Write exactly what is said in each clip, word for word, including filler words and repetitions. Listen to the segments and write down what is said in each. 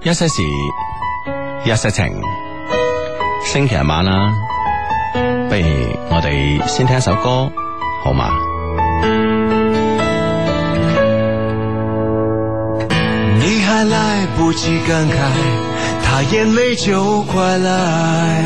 一些事，一些情，星期日晚啦，不如我哋先聽一首歌，好嗎？ 你還來不及感慨，他眼淚就快來，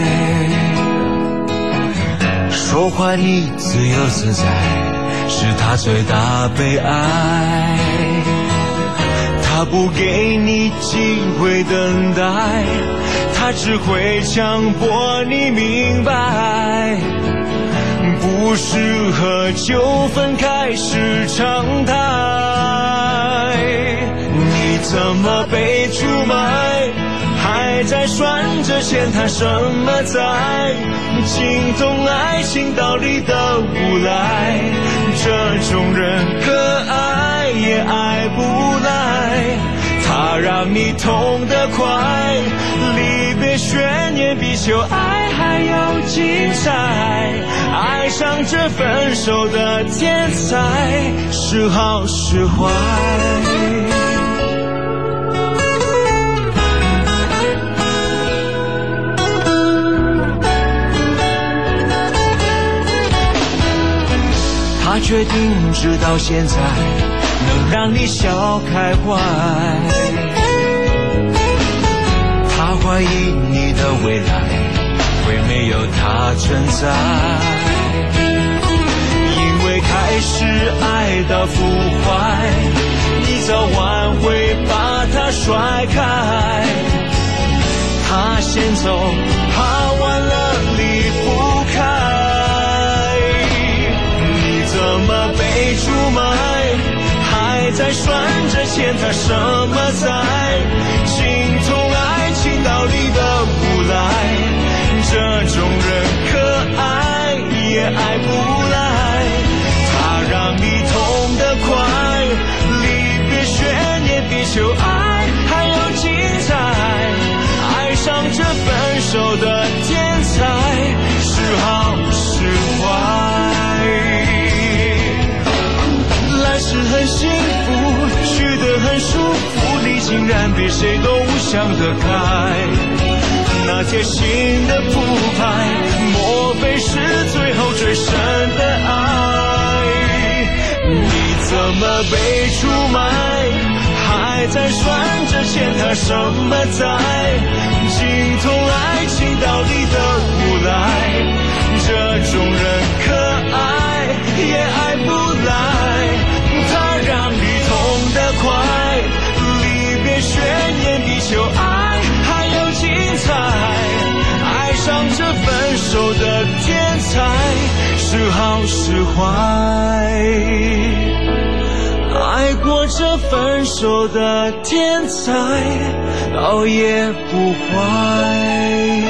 說話你自由自在，是他最大悲哀。他不給你機會等待，他只會強迫你明白，不適合就分開是常態。你怎麼被出賣，還在算着欠他什麼債，精通愛情道理的無賴，這種人可愛也愛不來，他讓你痛得快，離別懸念比求愛還要精彩，愛上這分手的天才，是好是壞。他決定直到現在能讓你笑開懷，他懷疑你的未來會沒有他存在，因為開始愛到腐壞，你早晚會把他甩開，他先走怕晚了離不開，怎麼被出賣，還在算着欠他什麼債，精通愛情道理的無賴，這種人可愛也愛不來，他讓你痛得快，離別懸念比求愛還要精彩，愛上這分手的天才，是好是壞。是很幸福，去得很舒服，你竟然比誰都想得開，那貼心的鋪排，莫非是最後最深的愛？你怎麼被出賣，還在算着欠他什麼債，精通愛情道理的無賴，這種人可愛也愛不來，讓你痛得快，離別懸念比求愛還要精彩，愛上這分手的天才，是好是壞，愛過這分手的天才，倒也不壞。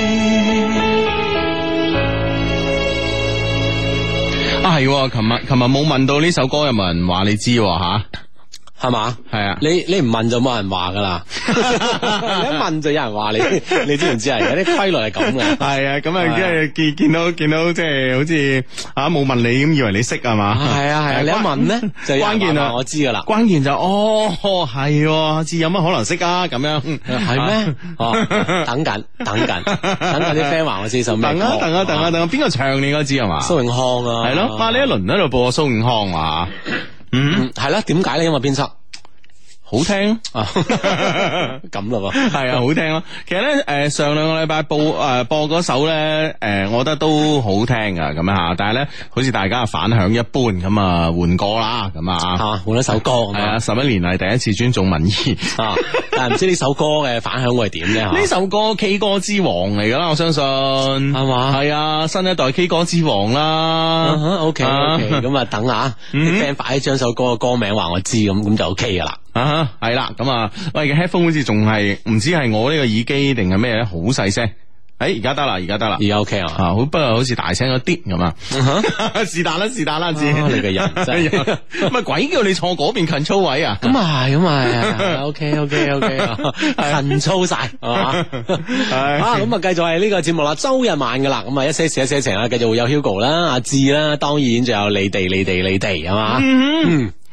啊係，琴日琴日冇問到呢首歌，有冇人話你知吓？ 係嘛？係啊，你你唔問就冇人話噶啦，你一問就有人話你，你知唔知啊？有啲規律係咁嘅。 係啊，咁啊，即係見見到見到即係好似啊冇問你咁，以為你識係嘛？ 係啊係啊，你一問咧就關鍵啊，我知噶啦。 關鍵就哦係，知有乜可能識啊？咁樣係咩？哦，等緊等緊等緊啲 friend 話我知首咩？ 等啊等啊等啊等啊，邊個唱你應該知係嘛？ 蘇永康啊， 係咯，哇！呢一輪喺度播蘇永康啊。嗯， 係啦，點解咧？因為編輯好聽啊， 咁咯， 係啊，好聽咯。其實咧，誒、呃，上兩個禮拜播誒、呃、播嗰首咧，誒、呃，我覺得都好聽噶，咁樣吓。但係咧，好似大家反響一般，咁啊換歌啦，咁啊吓換一首歌， 係啊，十一年嚟第一次尊重民意啊。但係唔知呢首歌嘅反響會係點咧？ 呢首歌 K 歌之王嚟噶啦，我相信係嘛？係啊，新一代 K 歌之王啦。 O K O K，咁啊等下啲 friend 快啲將首歌嘅歌名話我知，咁咁就 O K 噶啦。 啊，係啦，咁啊，喂，嘅 headphone 好似仲係唔知係我呢個耳機定係咩咧，好細聲。誒，而家得啦，而家得啦， 而家 OK 啊， 好，不過好似大聲咗啲咁啊，是但啦，是但啦，知你嘅人真係， 咪鬼叫你坐嗰邊近操位啊？ 咁啊係，咁啊，OK OK OK，近操晒係嘛？啊，咁啊，繼續係呢個節目啦，周日晚噶啦，咁啊，一些事一些情啦，繼續會有 Hugo 啦，阿志啦，當然仲有你哋，你哋，你哋係嘛？嗯。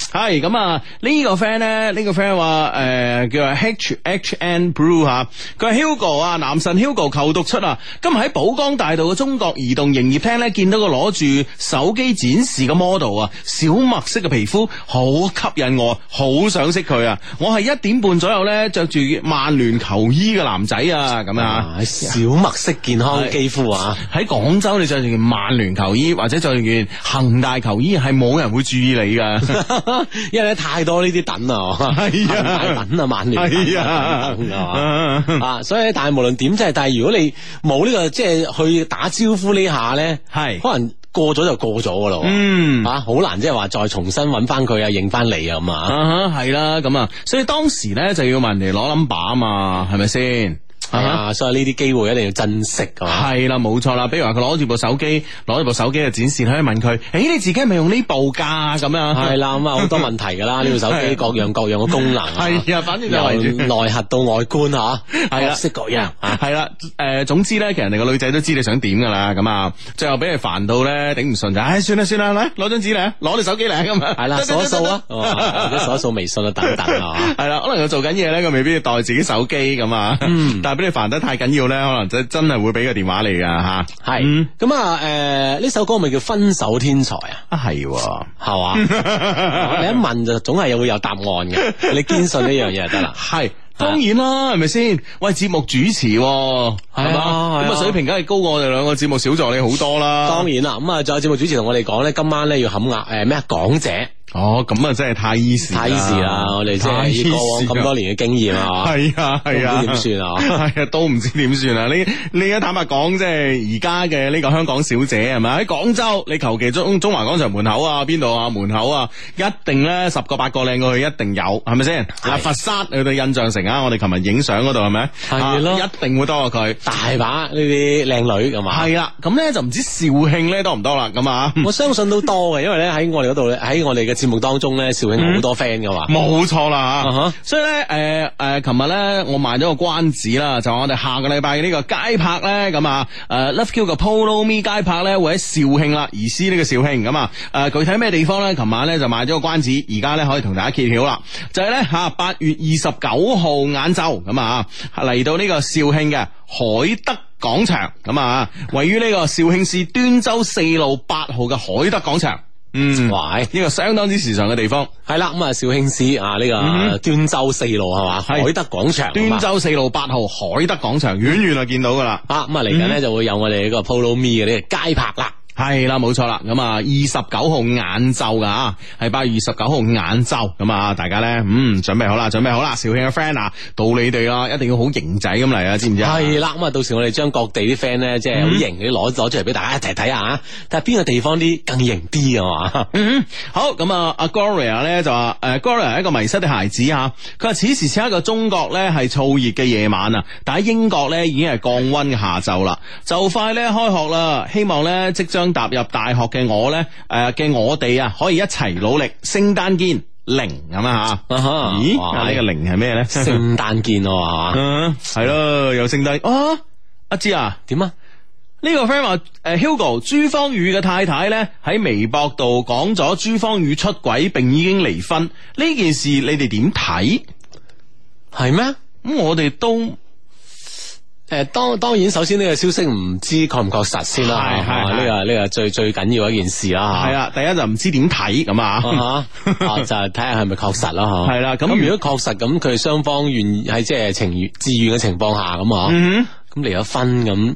係咁啊！呢個 friend 咧，呢個 friend 話誒，叫做 H H N Blue 吓，佢係 Hugo 啊，男神 Hugo 求讀出啊！今日喺寶崗大道嘅中國移動營業廳咧，見到個攞住手機展示嘅 model 啊，小麥色嘅皮膚好吸引我，好想識佢啊！我係一點半左右咧，着住曼聯球衣嘅男仔啊，咁啊， 小麥色健康肌膚啊！ 喺廣州你着住件曼聯球衣或者着住件恒大球衣，係冇人會注意你噶。 因為咧太多呢啲等啊， 係啊， 等啊，曼聯係啊，啊，所以咧，但係無論點，即係，但係如果你冇呢個即係去打招呼呢下咧，係可能過咗就過咗噶咯，嗯，啊，好難即係話再重新揾翻佢啊，認翻你啊咁啊， 係啦，咁啊，所以當時咧就要問人哋攞 number 啊嘛，係咪先？ 係啊，所以呢啲機會一定要珍惜噶。 係啦，冇錯啦。比如話佢攞住部手機，攞住部手機嘅展示，可以問佢：誒、欸，你自己係咪用呢部噶？咁樣係啦，咁啊好多問題噶啦。呢部手機各樣各樣嘅功能，係啊，反正就由內核到外觀吓，係啦，識各樣。係啦，誒，總之咧，其實人哋個女仔都知你想點噶啦。咁啊，最後俾你煩到咧頂唔順就，唉，算啦算啦，嚟攞張紙嚟，攞你手機嚟咁啊。係啦，掃一掃啊，或者掃一掃微信啊等等啊。係啦，可能佢做緊嘢咧，佢未必要帶自己手機咁啊。但俾你煩得太緊要咧，可能真真係會俾個電話你噶吓。係咁啊，誒，呢首歌咪叫《分手天才》啊？ 啊係， 係嘛？你一問就總係會有答案嘅，你堅信呢樣嘢就得啦。係當然啦，係咪先？喂，節目主持係嘛？咁啊水平梗係高過我哋兩個節目小助理好多啦。 當然啦，咁啊，仲有節目主持同我哋講咧，今晚咧要冚額誒咩啊港姐。 哦，咁啊真係太 easy 太 easy 啦！我哋即係以過往咁多年嘅經驗啊， 係啊係啊， 點算啊？ 係啊，都唔知點算啊！你你而家坦白講，即係而家嘅呢個香港小姐係咪喺廣州？你求其中中環廣場門口啊，邊度啊門口啊，一定咧十個八個靚過去，一定有，係咪先？啊，佛山去到印象城啊，我哋琴日影相嗰度係咪？係咯，一定會多過佢， 大把呢啲靚女咁嘛。 係啦，咁咧就唔知肇慶咧多唔多啦？咁啊， 我相信都多嘅，因為咧喺我哋嗰度咧，喺我哋嘅節目當中咧，肇慶好多 friend 噶嘛， 冇錯啦吓，所以咧誒誒，琴日咧我賣咗個關子啦，就我哋下個禮拜呢個街拍咧咁啊，誒 Love Q 嘅 Polo Me 街拍咧會喺肇慶啦，移師呢個肇慶咁啊，誒具體咩地方咧？琴晚咧就賣咗個關子，而家咧可以同大家揭曉啦，就係咧吓八月二十九號晏晝咁啊，嚟到呢個肇慶嘅海德廣場咁啊，位於呢個肇慶市端州四路八號嘅海德廣場。嗯，哇！呢個相當之時尚嘅地方， 係啦，咁啊，肇慶市啊，呢個端州四路係嘛，海德廣場， 端州四路八號海德廣場，遠遠就見到噶啦， 啊，咁啊嚟緊咧就會有我哋呢個 Polo Me 嘅呢個街拍啦。 係啦，冇錯啦，咁啊，二十九號晏晝噶，係八月二十九號晏晝，咁啊，大家咧，嗯，準備好啦，準備好啦，肇慶嘅 friend 啊，到你哋啦，一定要好型仔咁嚟啊，知唔知啊？ 係啦，咁啊，到時我哋將各地啲 friend 咧，即係好型啲攞攞出嚟俾大家一齊睇下，睇下邊個地方啲更型啲啊嘛。嗯，好，咁啊，阿 Gloria 咧就話，誒 Gloria 係一個迷失嘅孩子啊，佢話此時此刻嘅中國咧係燥熱嘅夜晚啊，但喺英國咧已經係降溫嘅下晝啦，就快咧開學啦，希望咧即將踏入大學嘅我咧，誒、呃、嘅我哋啊，可以一齊努力，聖誕見零咁啊吓，咦？呢、呢個零係咩咧？ 聖誕見啊嘛， 係咯，有聖誕啊！阿芝啊， 點啊？ 呢個 friend 話誒，Hugo 朱芳雨嘅太太咧喺微博度講咗朱芳雨出軌並已經離婚呢件事，你哋點睇？ 係咩？ 咁我哋都。 誒，當當然，首先呢個消息唔知確唔確實先啦，係係呢個呢個最最緊要一件事啦， 係啊，第一就唔知點睇咁啊， 就係睇下係咪確實啦，嗬，係啦，咁如果確實咁，佢雙方願喺即係情願自願嘅情況下咁啊，咁離咗婚咁，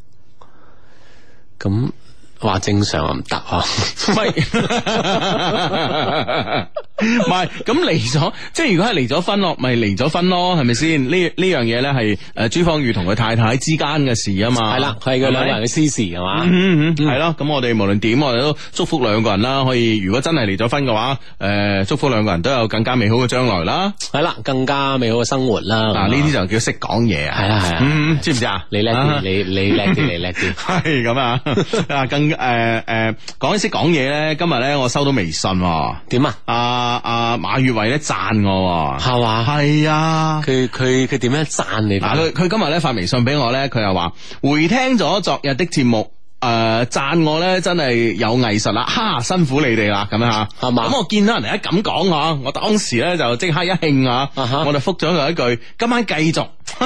咁話正常啊唔得啊， 唔係，唔係，咁離咗，即係如果係離咗婚咯，咪離咗婚咯，係咪先？呢呢樣嘢咧係誒朱芳雨同佢太太之間嘅事啊嘛， 係啦，係佢兩個人嘅私事係嘛， 係咯，咁我哋無論點，我哋都祝福兩個人啦，可以如果真係離咗婚嘅話，誒祝福兩個人都有更加美好嘅將來啦， 係啦，更加美好嘅生活啦。 嗱，呢啲就叫識講嘢啊， 係啊係啊， 知唔知啊？ 你叻啲，你你叻啲，你叻啲， 係咁啊，啊更。誒誒，講起識講嘢咧，今日咧我收到微信， 點啊？ 阿阿馬月偉咧讚我， 係嘛？ 係啊， 佢佢佢點樣讚你？ 嗱，佢佢今日咧發微信俾我咧，佢又話回聽咗昨日的節目， 誒讚我咧真係有藝術啦，哈辛苦你哋啦咁樣吓，係嘛？咁我見到人哋一咁講吓，我當時咧就即刻一興啊，我就覆咗佢一句：今晚繼續。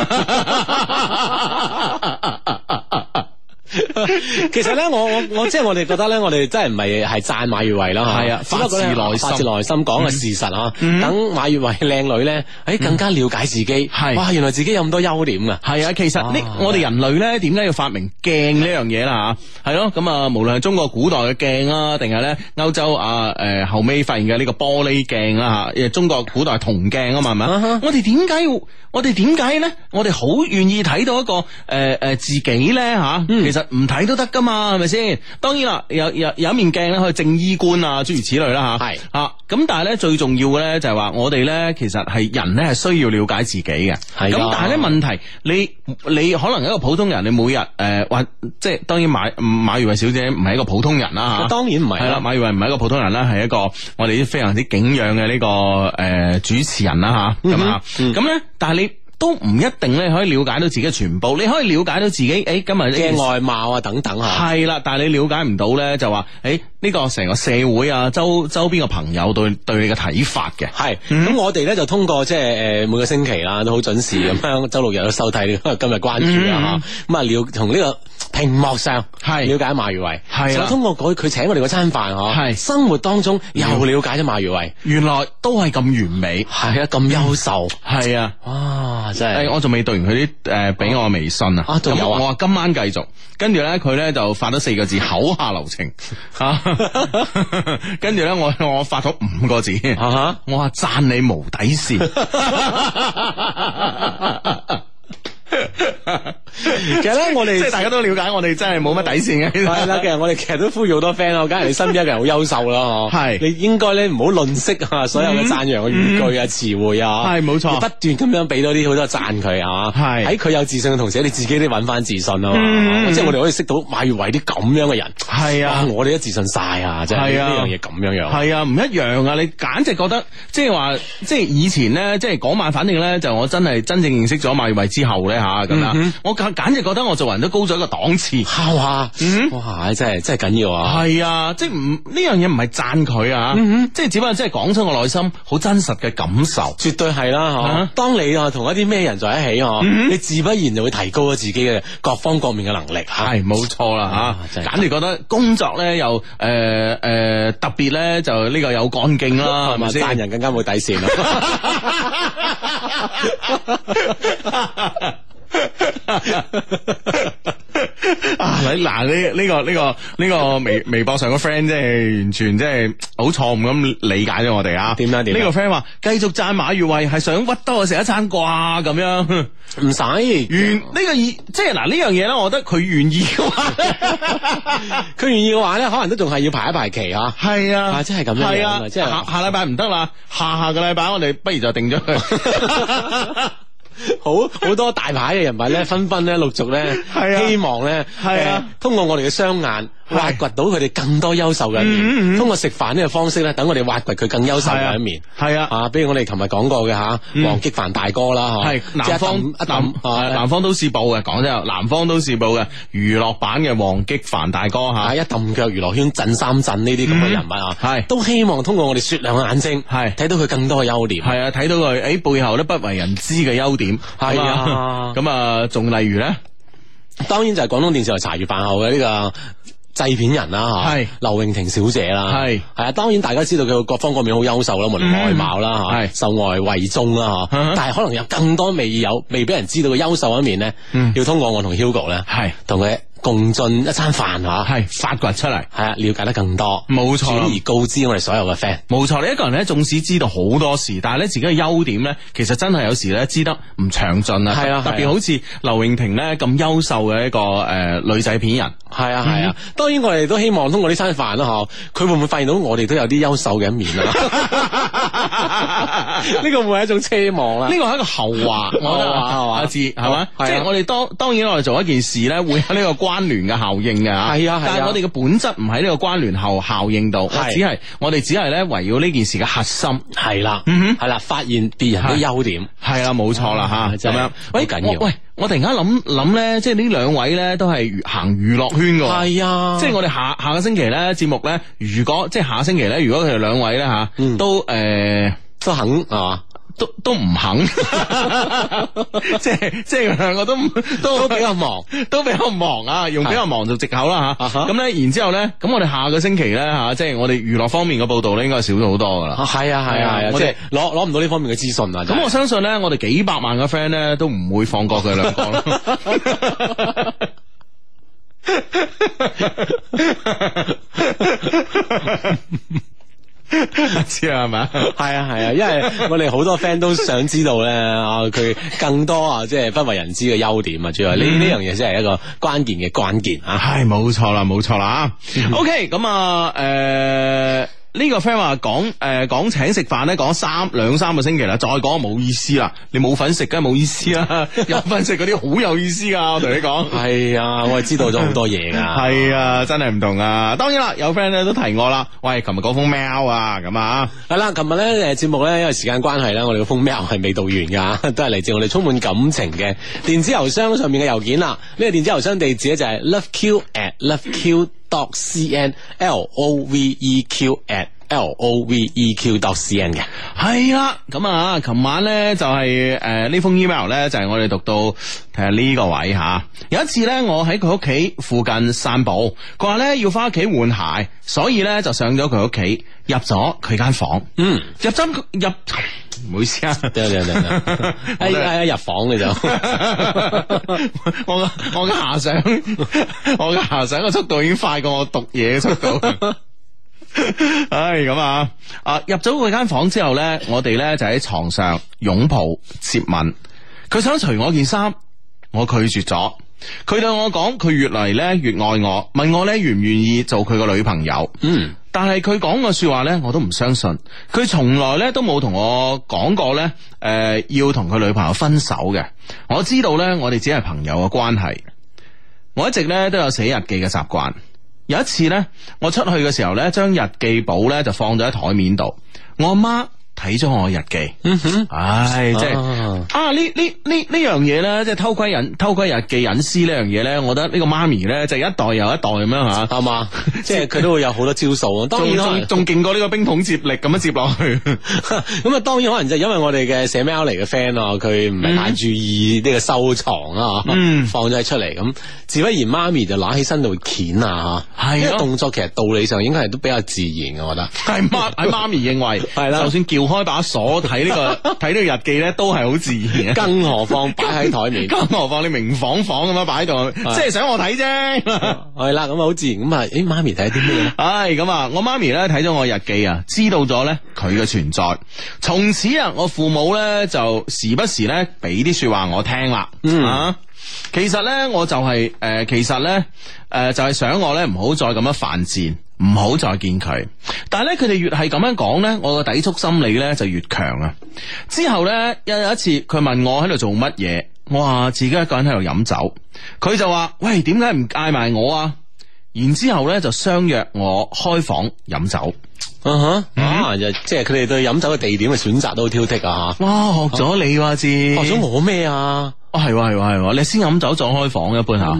其實咧，我我我即係我哋覺得咧，我哋真係唔係係讚馬月慧啦，係啊，發自內心，發自內心講嘅事實啊。等馬月慧靚女咧，誒更加了解自己，係哇，原來自己有咁多優點啊。係啊，其實呢，我哋人類咧點解要發明鏡呢樣嘢啦？吓，係咯，咁啊，無論係中國古代嘅鏡啊，定係咧歐洲啊誒後尾發現嘅呢個玻璃鏡啦吓，誒中國古代銅鏡啊嘛，係咪啊？我哋點解要？我哋點解咧？我哋好願意睇到一個誒誒、呃、自己咧吓，嗯、其實唔睇都得噶嘛，係咪先？當然啦，有有有一面鏡咧可以正衣冠啊，諸如此類啦吓。係啊，咁但係咧最重要嘅咧就係話我哋咧其實係人咧係需要了解自己嘅。係咁、啊，但係咧問題，你你可能一個普通人，你每日誒或即係當然馬馬月慧小姐唔係一個普通人啦吓。當然唔係。係啦，馬月慧唔係一個普通人啦，係一個我哋啲非常之敬仰嘅呢個誒、呃、主持人啦吓。咁啊，咁咧，但係你。都唔一定咧可以了解到自己嘅全部，你可以了解到自己誒、欸、今日嘅外貌啊等等吓，係啦，但係你了解唔到咧就話誒呢個成個社會啊周周邊嘅朋友對對你嘅睇法嘅係，咁、嗯、我哋咧就通過即係誒每個星期啦都好準時咁樣周六日都收睇呢今日關注啊吓，咁啊了同呢個屏幕上係了解馬月慧，係啦，通過佢佢請我哋嗰餐飯嗬，係生活當中又了解咗馬月慧，原來都係咁完美，係啊咁優秀，係啊，哇！真係，誒，我仲未讀完佢啲誒俾我微信啊，啊，仲有啊，我話今晚繼續，跟住咧佢咧就發咗四個字口下留情，吓，跟住咧我我發咗五個字，啊、我話讚你無底線。其實咧，我哋即係大家都了解，我哋真係冇乜底線嘅。係啦，其實我哋其實都呼籲好多 friend 咯，梗係你身邊一個人好優秀啦，嗬。係，你應該咧唔好吝嗇啊，所有嘅讚揚嘅語句啊、詞彙啊，係冇錯，不斷咁樣俾多啲好多讚佢啊。係喺佢有自信嘅同時，你自己都揾翻自信啊嘛。即係我哋可以識到馬月慧啲咁樣嘅人。係啊，我哋都自信晒啊，即係呢樣嘢咁樣樣。係啊，唔一樣啊！你簡直覺得即係話，即係以前咧，即係嗰晚，反正咧就我真係真正認識咗馬月慧之後咧吓咁啊，我簡直覺得我做人都高咗一個檔次，係嘛？嗯，哇，真係真係緊要啊！係啊，即係唔呢樣嘢唔係讚佢啊，嗯、即係只不過即係講出我內心好真實嘅感受，絕對係啦，嗬、啊！當你啊同一啲咩人在一起，嗬、嗯，你自不然就會提高咗自己嘅各方各面嘅能力，係冇錯啦，吓、啊，簡直覺得工作咧又誒誒、呃呃、特別咧就呢個有幹勁啦，係咪先？讚人更加冇底線咯。啊！嗱，呢呢個呢個呢個微微博上個 friend 即係完全即係好錯誤咁理解咗我哋啊！點樣點？呢個 friend 話繼續讚馬月慧係想屈多我食一餐啩咁樣，唔使願呢個意即係嗱呢樣嘢咧，我覺得佢願意嘅話，佢願意嘅話咧，可能都仲係要排一排期啊！係啊，啊，即係咁樣，係啊，即係下下禮拜唔得啦，下下個禮拜我哋不如就定咗佢。好好多大牌嘅人物咧，紛紛咧陸續咧，希望咧，係啊，通過我哋嘅雙眼挖掘到佢哋更多優秀嘅一面。通過食飯呢個方式咧，等我哋挖掘佢更優秀嘅一面。係啊，啊，比如我哋琴日講過嘅吓，黃擊凡大哥啦，係南方南南方都市報嘅，講真，南方都市報嘅娛樂版嘅黃擊凡大哥吓，一揼腳娛樂圈震三震呢啲咁嘅人物啊，係都希望通過我哋雪亮嘅眼睛，係睇到佢更多嘅優點。係啊，睇到佢誒背後咧不為人知嘅優點。係啊，咁啊，仲例如咧，當然就係廣東電視台茶餘飯後嘅呢個製片人啦，吓係劉穎婷小姐啦，係係啊，當然大家知道佢各方各面好優秀啦，無論外貌啦，吓係受外慧中啦，吓，但係可能有更多未有未俾人知道嘅優秀一面咧，要通過我同 Hugo 咧，係同佢共進一餐飯吓，係發掘出嚟，係啊，了解得更多，冇錯，轉而告知我哋所有嘅 friend，冇錯。你一個人咧，縱使知道好多事，但係咧自己嘅優點咧，其實真係有時咧知得唔詳盡啊。係啊，特別好似劉穎婷咧咁優秀嘅一個誒女仔片人，係啊係啊。當然我哋都希望通過呢餐飯啦，嗬，佢會唔會發現到我哋都有啲優秀嘅一面啊？ 呢個會係一種奢望啦， 呢個係一個後話，我覺得係嘛，字係嘛，即係我哋當當然我哋做一件事咧，會有呢個關聯嘅效應嘅， 係啊， 但係我哋嘅本質唔喺呢個關聯後效應度，只係我哋只係咧圍繞呢件事嘅核心， 係啦，係啦，發現別人嘅優點， 係啦，冇錯啦吓，咁樣， 喂，緊要， 喂。我突然間諗諗咧，即係呢兩位咧都係行娛樂圈㗎， 係啊， 即係我哋下下個星期咧節目咧，如果即係下個星期咧，如果佢哋兩位咧吓，嗯、都誒、呃、 都肯係嘛？ 都都唔肯，即係即係兩個都都都比較忙， 都比較忙啊！用比較忙做藉口啦吓。咁咧，然之後咧，咁我哋下個星期咧吓，即係我哋娛樂方面嘅報道咧，應該少咗好多噶啦。 係啊係啊係啊，即係攞攞唔到呢方面嘅資訊啊。 咁我相信咧，我哋幾百萬嘅 friend 咧，都唔會放過佢兩個咯。知啊係咪？ 係啊係啊，因為我哋好多 friend 都想知道咧啊，佢更多啊，即係不為人知嘅優點啊，主要呢呢樣嘢先係一個關鍵嘅關鍵啊。 係冇錯啦，冇錯啦。OK，咁啊，誒。呢個 friend 話講誒講請食飯咧，講三兩三個星期啦，再講冇意思啦。你冇份食梗係冇意思啦，有份食嗰啲好有意思噶。我同你講， 係啊，我係知道咗好多嘢噶。 係啊，真係唔同啊。當然啦，有 friend 咧都提我啦。喂，琴日嗰封 mail 啊，咁啊， 係啦，琴日咧誒節目咧，因為時間關係咧，我哋嗰封 mail 係未讀完噶，都係嚟自我哋充滿感情嘅電子郵箱上面嘅郵件啦。呢個電子郵箱地址咧就係 loveq at loveq dot cn，l o v e q at L O V E Q dot C N 嘅。 係啦，咁啊，琴晚咧就係誒呢封 email 咧就係、是、我哋讀到睇下呢個位吓。有一次咧，我喺佢屋企附近散步，佢話咧要翻屋企換鞋，所以咧就上咗佢屋企，入咗佢間房。嗯，入針入，唔好意思啊， 得得得得，哎哎入房嘅就， 我我嘅遐想，我嘅遐想嘅速度已經快過我讀嘢嘅速度。唉，咁啊，啊入咗佢間房之後咧，我哋咧就喺床上擁抱接吻。佢想除我件衫，我拒絕咗。佢對我講，佢越嚟咧越愛我，問我咧願唔願意做佢個女朋友。嗯，但係佢講嘅說話咧，我都唔相信。佢從來咧都冇同我講過咧，誒、呃、要同佢女朋友分手嘅。我知道咧，我哋只係朋友嘅關係。我一直咧都有寫日記嘅習慣。有一次咧，我出去嘅時候咧，將日記簿咧就放咗喺台面度。我阿媽睇咗我日記，嗯哼，唉，即係啊呢呢呢呢樣嘢咧，即係偷窺隱偷窺日記隱私呢樣嘢咧，我覺得呢個媽咪咧就一代又一代咁樣吓，係嘛， 即係佢都會有好多招數。當然仲仲勁過呢個冰桶接力咁樣接落去。 咁啊，當然可能就係因為我哋嘅寫 mail 嚟嘅 friend 啊，佢唔係太注意呢個收藏啊，嗯，放咗出嚟咁，自不然媽咪就攞起身就會鉗啊，係，呢個動作其實道理上應該係都比較自然嘅，我覺得係媽喺媽咪認為係啦，就算叫開把鎖睇呢個睇呢個日記咧，都係好自然嘅。 更何況擺喺台面， 更何況你明晃晃咁樣擺喺度，即係想我睇啫。 係啦，咁啊好自然咁啊，誒媽咪睇啲咩咧？ 唉，咁啊，我媽咪咧睇咗我日記啊，知道咗咧佢嘅存在。從此啊，我父母咧就時不時咧俾啲說話我聽啦。嗯啊，其實咧我就係、是、誒、呃，其實咧誒、呃、就係、是、想我咧唔好再咁樣犯賤。唔好再見佢，但係咧佢哋越係咁樣講咧，我個抵觸心理咧就越強啊！之後咧有有一次佢問我喺度做乜嘢，我話自己一個人喺度飲酒，佢就話：喂，點解唔嗌埋我啊？然之後咧就相約我開房飲酒。 嗯哼，啊，就即係佢哋對飲酒嘅地點嘅選擇都好挑剔啊！ 哇，學咗你話知， 學咗我咩啊？ 哦，係喎係喎係喎，你先飲酒再開房一般吓。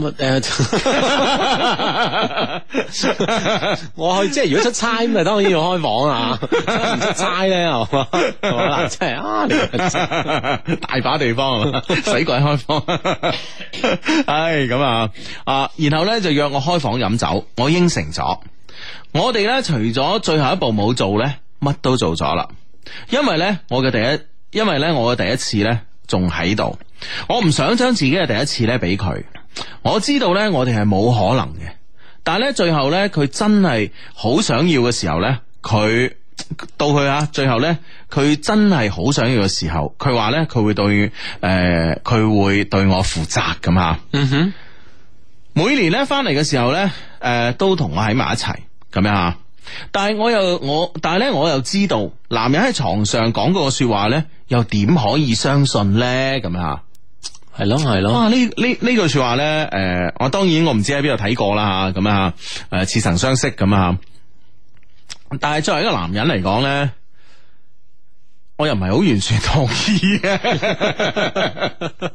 我去即係如果出差咁啊，當然要開房啊。唔出差咧係嘛，係嘛嗱，真係啊，你大把地方係嘛，使鬼開房。唉，咁啊啊，然後咧就約我開房飲酒，我應承咗。我哋咧除咗最後一步冇做咧，乜都做咗啦。因為咧我嘅第一，因為咧我嘅第一次咧仲喺度，我唔想將自己嘅第一次咧俾佢。我知道咧我哋係冇可能嘅，但係咧最後咧佢真係好想要嘅時候咧，佢到佢啊最後咧佢真係好想要嘅時候，佢話咧佢會對誒佢、呃、會對我負責咁吓。嗯哼，每年咧翻嚟嘅時候咧誒、呃、都同我喺埋一齊。咁樣啊， 但係我又我，但係咧我又知道，男人喺床上講嗰個說話咧，又點可以相信咧？咁啊， 係咯係咯。 哇！呢呢呢句說話咧，誒、呃，我當然我唔知喺邊度睇過啦吓，咁啊，誒，似曾相識咁啊。但係作為一個男人嚟講咧，我又唔係好完全同意嘅。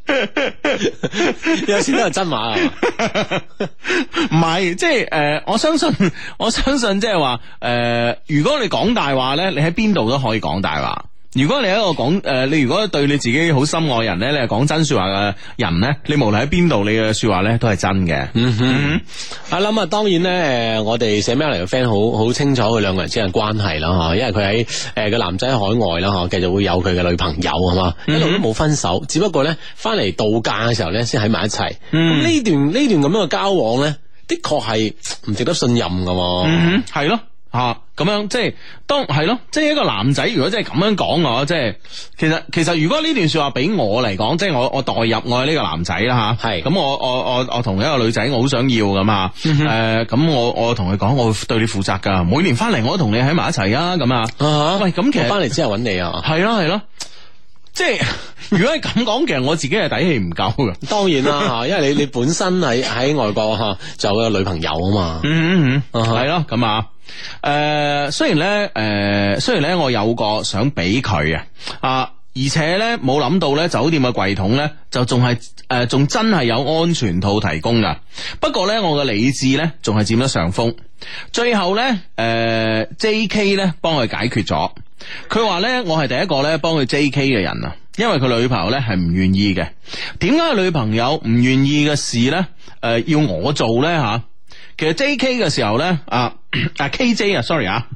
有時都係真話啊， 唔係，即係誒、呃，我相信，我相信即係話誒，如果你講大話咧，你喺邊度都可以講大話。如果你係一個講誒、呃，你如果對你自己好深愛人咧，你係講真說話嘅人咧，你無論喺邊度，你嘅說話咧都係真嘅。嗯哼， 我諗啊，當然咧，誒，我哋寫 mail 嚟嘅 friend 好好清楚佢兩個人之間嘅關係啦，吓，因為佢喺誒個男仔喺海外啦，吓，繼續會有佢嘅女朋友係嘛，一路都冇分手，只不過咧翻嚟度假嘅時候咧先喺埋一齊。咁呢、嗯、段呢段咁樣嘅交往咧，的確係唔值得信任噶。 嗯，係咯。啊，咁樣即係當係咯，即係一個男仔如果真係咁樣講嘅，即係其實其實如果呢段說話俾我嚟講，即係我我代入我係呢個男仔啦吓，係咁我我我我同一個女仔我好想要咁啊，誒咁我我同佢講我會對你負責噶，每年翻嚟我都同你喺埋一齊啊，咁啊，喂咁其實翻嚟之後揾你啊， 係咯係咯。即係如果係咁講，其實我自己係底氣唔夠嘅。 當然啦吓，因為你你本身喺喺外國吓，就有個女朋友啊嘛。 嗯嗯嗯，係咯咁啊。誒，雖然咧，誒、呃，雖然咧，我有個想俾佢啊，啊，而且咧冇諗到咧，酒店嘅櫃桶咧就仲係誒，仲、呃、真係有安全套提供噶。不過咧，我嘅理智咧仲係佔咗上風。最後咧，誒、呃、，J K 咧幫佢解決咗。佢話咧，我係第一個咧幫佢 J K 嘅人啊，因為佢女朋友咧係唔願意嘅。點解女朋友唔願意嘅事咧？誒、呃，要我做咧吓？其實 J K 嘅時候咧，啊啊 K J 啊 ，sorry 啊，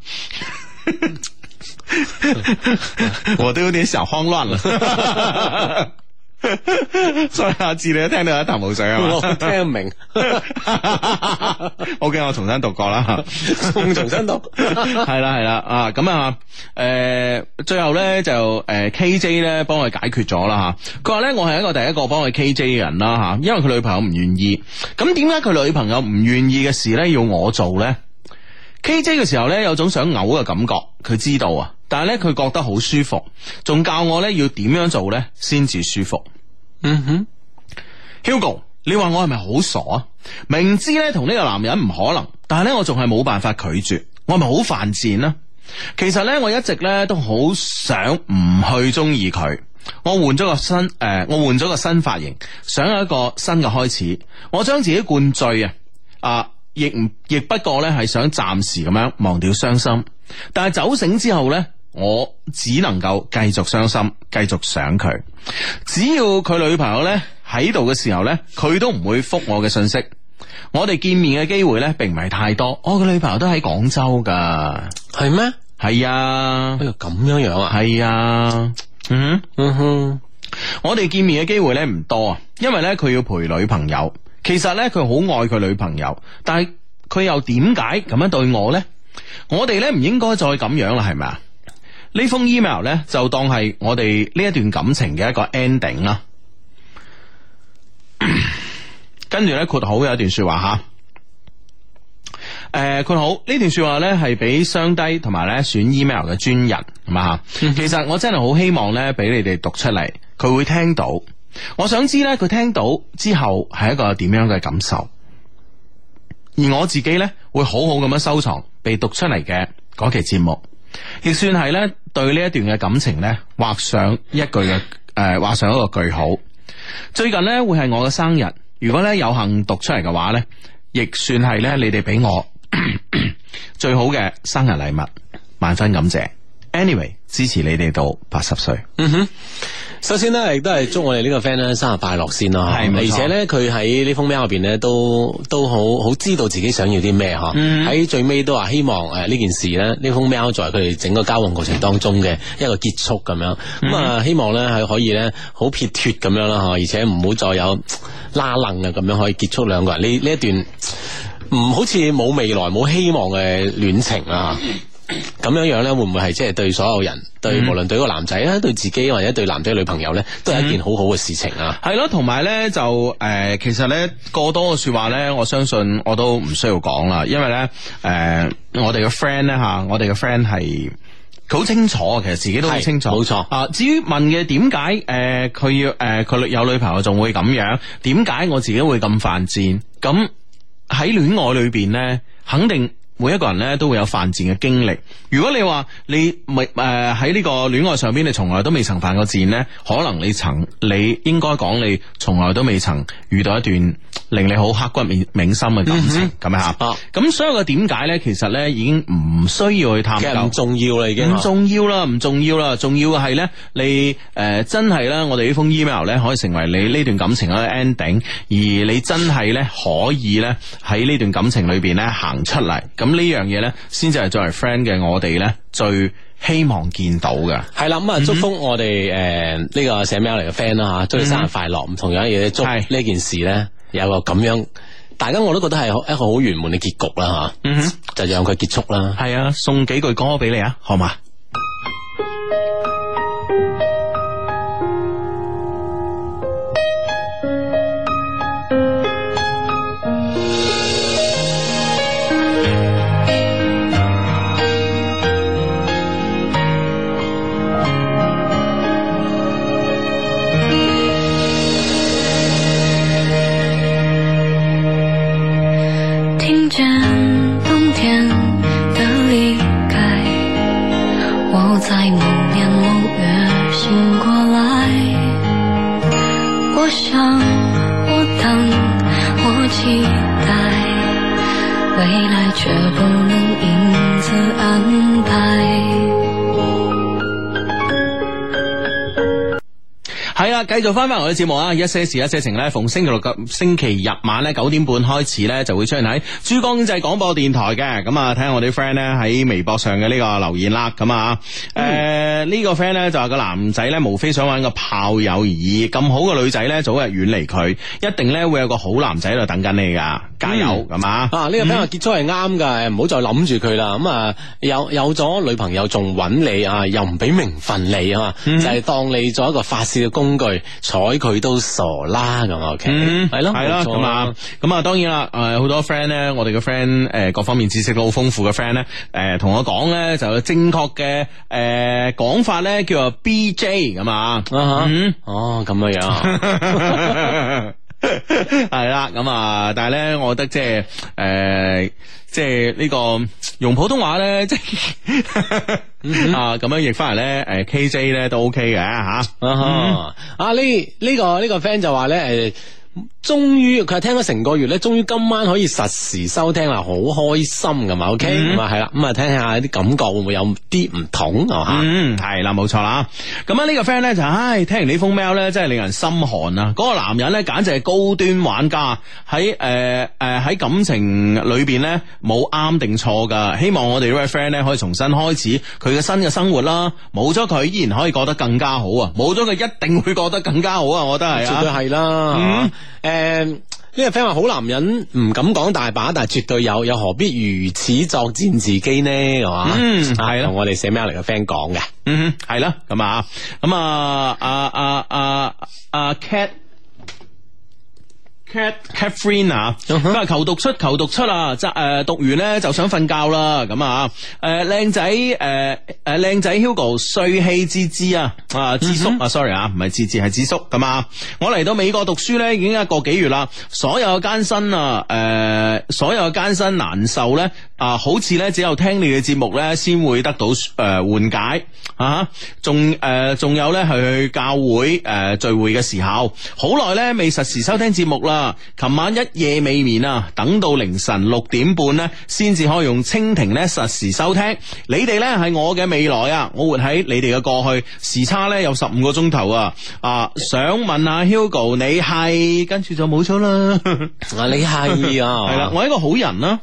我都有點小慌亂啦。所以阿志你都聽到一頭霧水啊嘛， 我聽唔明。 OK， 我重新讀過啦， 重重新讀， 係啦係啦啊，咁啊，誒、呃，最後咧就誒、呃、K J 咧幫佢解決咗啦吓。佢話咧我係一個第一個幫佢 K J 嘅人啦吓，因為佢女朋友唔願意。咁點解佢女朋友唔願意嘅事咧要我做咧 ？K J 嘅時候咧有種想嘔嘅感覺，佢知道啊，但係咧佢覺得好舒服，仲教我咧要點樣做咧先至舒服。嗯哼 Hugo， 你話我係咪好傻啊？明知咧同呢個男人唔可能，但係咧我仲係冇辦法拒絕，我係咪好犯賤啊？其實咧我一直咧都好想唔去中意佢，我換咗個新誒、呃，我換咗個新髮型，想有一個新嘅開始，我將自己灌醉啊，啊，亦唔亦不過咧係想暫時咁樣忘掉傷心，但係酒醒之後咧。我只能夠繼續傷心，繼續想佢。只要佢女朋友咧喺度嘅時候咧，佢都唔會覆我嘅信息。我哋見面嘅機會咧，並唔係太多。我嘅女朋友都喺廣州噶， 係咩？ 係啊， 哎呀咁樣樣啊， 係啊，嗯嗯哼，我哋見面嘅機會咧唔多啊，因為咧佢要陪女朋友。其實咧佢好愛佢女朋友，但係佢又點解咁樣對我咧？我哋咧唔應該再咁樣啦，係咪啊？呢封 email 咧就當係我哋呢一段感情嘅一個 ending 啦。跟住咧括號有一段說話吓，誒、呃、括號呢段說話咧係俾雙低同埋咧選 email 嘅專人係嘛。其實我真係好希望咧俾你哋讀出嚟，佢會聽到。我想知咧佢聽到之後係一個點樣嘅感受，而我自己咧會好好咁樣收藏被讀出嚟嘅嗰期節目。亦算係咧對呢一段嘅感情咧畫上一句嘅誒畫上一個句號。最近咧會係我嘅生日，如果咧有幸讀出嚟嘅話咧，亦算係咧你哋俾我咳咳最好嘅生日禮物，萬分感謝。Anyway， 支持你哋到八十歲。 嗯哼。首先咧，亦都係祝我哋呢個 friend 咧生日快樂先啦。係，而且咧，佢喺呢封 mail 入邊咧，都都好好知道自己想要啲咩嗬。喺、嗯、最尾都話希望誒呢件事咧，呢封 mail 作為佢哋整個交往過程當中嘅一個結束咁樣。咁啊、嗯，希望咧係可以咧好撇脱咁樣啦，嗬，而且唔好再有拉楞啊，咁樣可以結束兩個人呢呢一段唔好似冇未來冇希望嘅戀情啊。 咁樣樣咧，會唔會係即係對所有人，對、嗯、無論對個男仔啊，對自己或者對男仔女朋友咧，都係一件好好嘅事情啊？ 係咯、嗯，同埋咧就誒、呃，其實咧過多嘅說話咧，我相信我都唔需要講啦，因為咧誒、呃，我哋嘅 friend 咧吓，我哋嘅 friend 係佢好清楚，其實自己都好清楚， 冇錯啊。至於問嘅點解誒，佢、呃、要誒佢、呃、有女朋友仲會咁樣？點解我自己會咁犯賤？咁喺戀愛裏邊咧，肯定。每一個人咧都會有犯賤嘅經歷。如果你話你未誒喺呢個戀愛上邊，你從來都未曾犯過賤咧，可能你曾你應該講你從來都未曾遇到一段令你好刻骨銘銘心嘅感情咁樣吓。咁、嗯、所有嘅點解咧，其實咧已經唔需要去探究， 唔重要啦，已經唔重要啦，唔重要啦。重要嘅係咧，你誒、呃、真係咧，我哋呢封 email 咧可以成為你呢段感情嘅 ending，而你真係咧可以咧喺呢段感情裏邊咧行出嚟。咁呢樣嘢咧，先至係作為 friend 嘅我哋咧，最希望見到嘅。 係啦，咁啊，祝福我哋誒呢個寫 mail 嚟嘅 friend 啦吓，祝你生日快樂。咁、嗯、同樣嘢，祝呢件事咧有個咁樣，大家我都覺得係一個好圓滿嘅結局啦吓。嗯哼，就讓佢結束啦。 係啊，送幾句歌俾你啊，好嘛？ 卻不能因此安排。 係啦，繼續翻翻我嘅節目啊！一些事一些情咧，逢星期六及星期日晚咧九點半開始咧，就會出現喺珠江經濟廣播電台嘅。咁啊，睇下我啲 friend 咧喺微博上嘅呢個留言啦。咁啊，誒、嗯，呢、這個 friend 咧就話個男仔咧，無非想揾個炮友而已。咁好嘅女仔咧，早日遠離佢，一定咧會有個好男仔喺度等緊你噶。加油，咁、嗯、啊！啊，呢、這個 friend 話結束係啱噶，唔好再諗住佢啦。咁啊，有有咗女朋友仲揾你啊，又唔俾名分你啊，嗯、就係當你做一個發泄嘅工具，睬佢都傻啦咁 OK，係咯，係啦，咁啊，咁啊，當然啦，誒，好多 friend 咧，我哋嘅 friend 誒，各方面知識都好豐富嘅 friend 咧，誒，同我講咧，就正確嘅誒講法咧，叫做 B J 咁啊，嗯，哦，咁嘅樣。係啦，咁啊，但係咧，我覺得即係誒，即係呢個用普通話咧，即係啊咁樣譯翻嚟咧，誒 K J 咧都 OK 嘅吓。啊呢呢個呢個 friend 就話咧誒。終於佢係聽咗成個月咧，終於今晚可以實時收聽啦，好開心㗎嘛 ，OK，咁啊係啦，咁啊聽下啲感覺會唔會有啲唔同啊吓？嗯，係啦，冇錯啦。咁啊呢個 friend 咧就唉，聽完呢封 mail 咧，真係令人心寒啊！嗰、那個男人咧簡直係高端玩家，喺誒誒喺感情裏邊咧冇啱定錯噶。希望我哋呢位 friend 咧可以重新開始佢嘅新嘅生活啦。冇咗佢依然可以過得更加好啊！冇咗佢一定會過得更加好啊！我覺得係啊，絕對係啦。嗯誒，呢個 friend 話好男人唔敢講大把，但係絕對有，又何必如此作踐自己呢？係嘛？嗯，係啦，同我哋寫 mail 嚟嘅 friend 講嘅，嗯哼，係啦，咁啊，咁啊，阿阿阿阿 Cat。Cat Catherine 啊，咁啊求讀出求讀出啊，即誒讀完咧就想瞓覺啦，咁啊誒靚仔誒誒靚仔 Hugo 帥氣之之啊啊智叔啊 sorry 啊唔係智智係智叔咁啊，我嚟到美國讀書咧已經一個幾月啦，所有嘅艱辛啊誒、呃、所有嘅艱辛難受咧啊好似咧只有聽你嘅節目咧先會得到誒緩解啊，仲誒仲有咧係去教會誒、呃、聚會嘅時候，好耐咧未實時收聽節目啦。琴晚一夜未眠啊，等到凌晨六點半呢，先至可以用蜻蜓咧實時收聽。你哋咧係我嘅未來啊，我活喺你哋嘅過去，時差咧有十五個鐘頭啊！啊，想問下 Hugo， 你係跟住就冇咗啦。啊，你係啊，係啦，我係一個好人啦，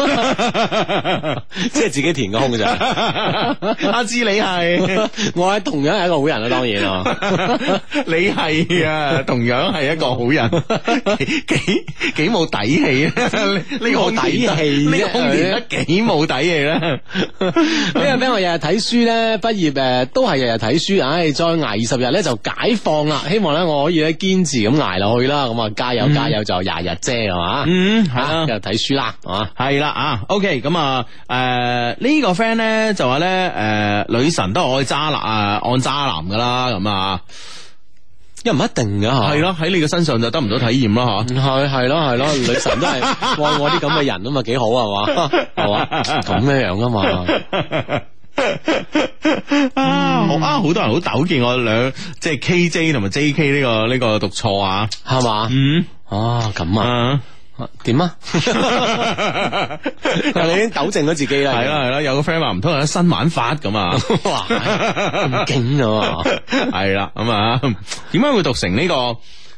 即係自己填個空咋。阿芝你係，我係同樣係一個好人啊，當然啊，你係啊，同樣係一個好人。 幾幾冇底氣啊！呢個冇底氣， 呢個空田得幾冇底氣咧？ 呢個 friend 話日日睇書咧，畢業誒都係日日睇書，唉，再挨二十日咧就解放啦！希望咧我可以咧堅持咁挨落去啦，咁啊加油加油就廿日啫，係嘛？嗯，係啊，日日睇書啦，係嘛？ 係啦啊 ，OK， 咁啊誒呢個 friend 咧就話咧誒女神都愛渣男啊，按渣男噶啦，咁啊。 又唔一定噶吓， 係咯，喺你嘅身上就得唔到體驗咯吓， 係係咯係咯，女神都係愛我啲咁嘅人啊嘛，幾好係嘛，係嘛，咁樣樣啊嘛， 啊好啊，好多人好糾結我兩即係 K J 同埋 J K 呢個呢個讀錯啊， 係嘛，嗯，啊咁啊。點啊？你已經糾正咗自己啦。 係啦係啦，有個 friend 話唔通有新玩法咁啊！ 哇，咁勁啊！ 係啦，咁啊，點解會讀成呢個？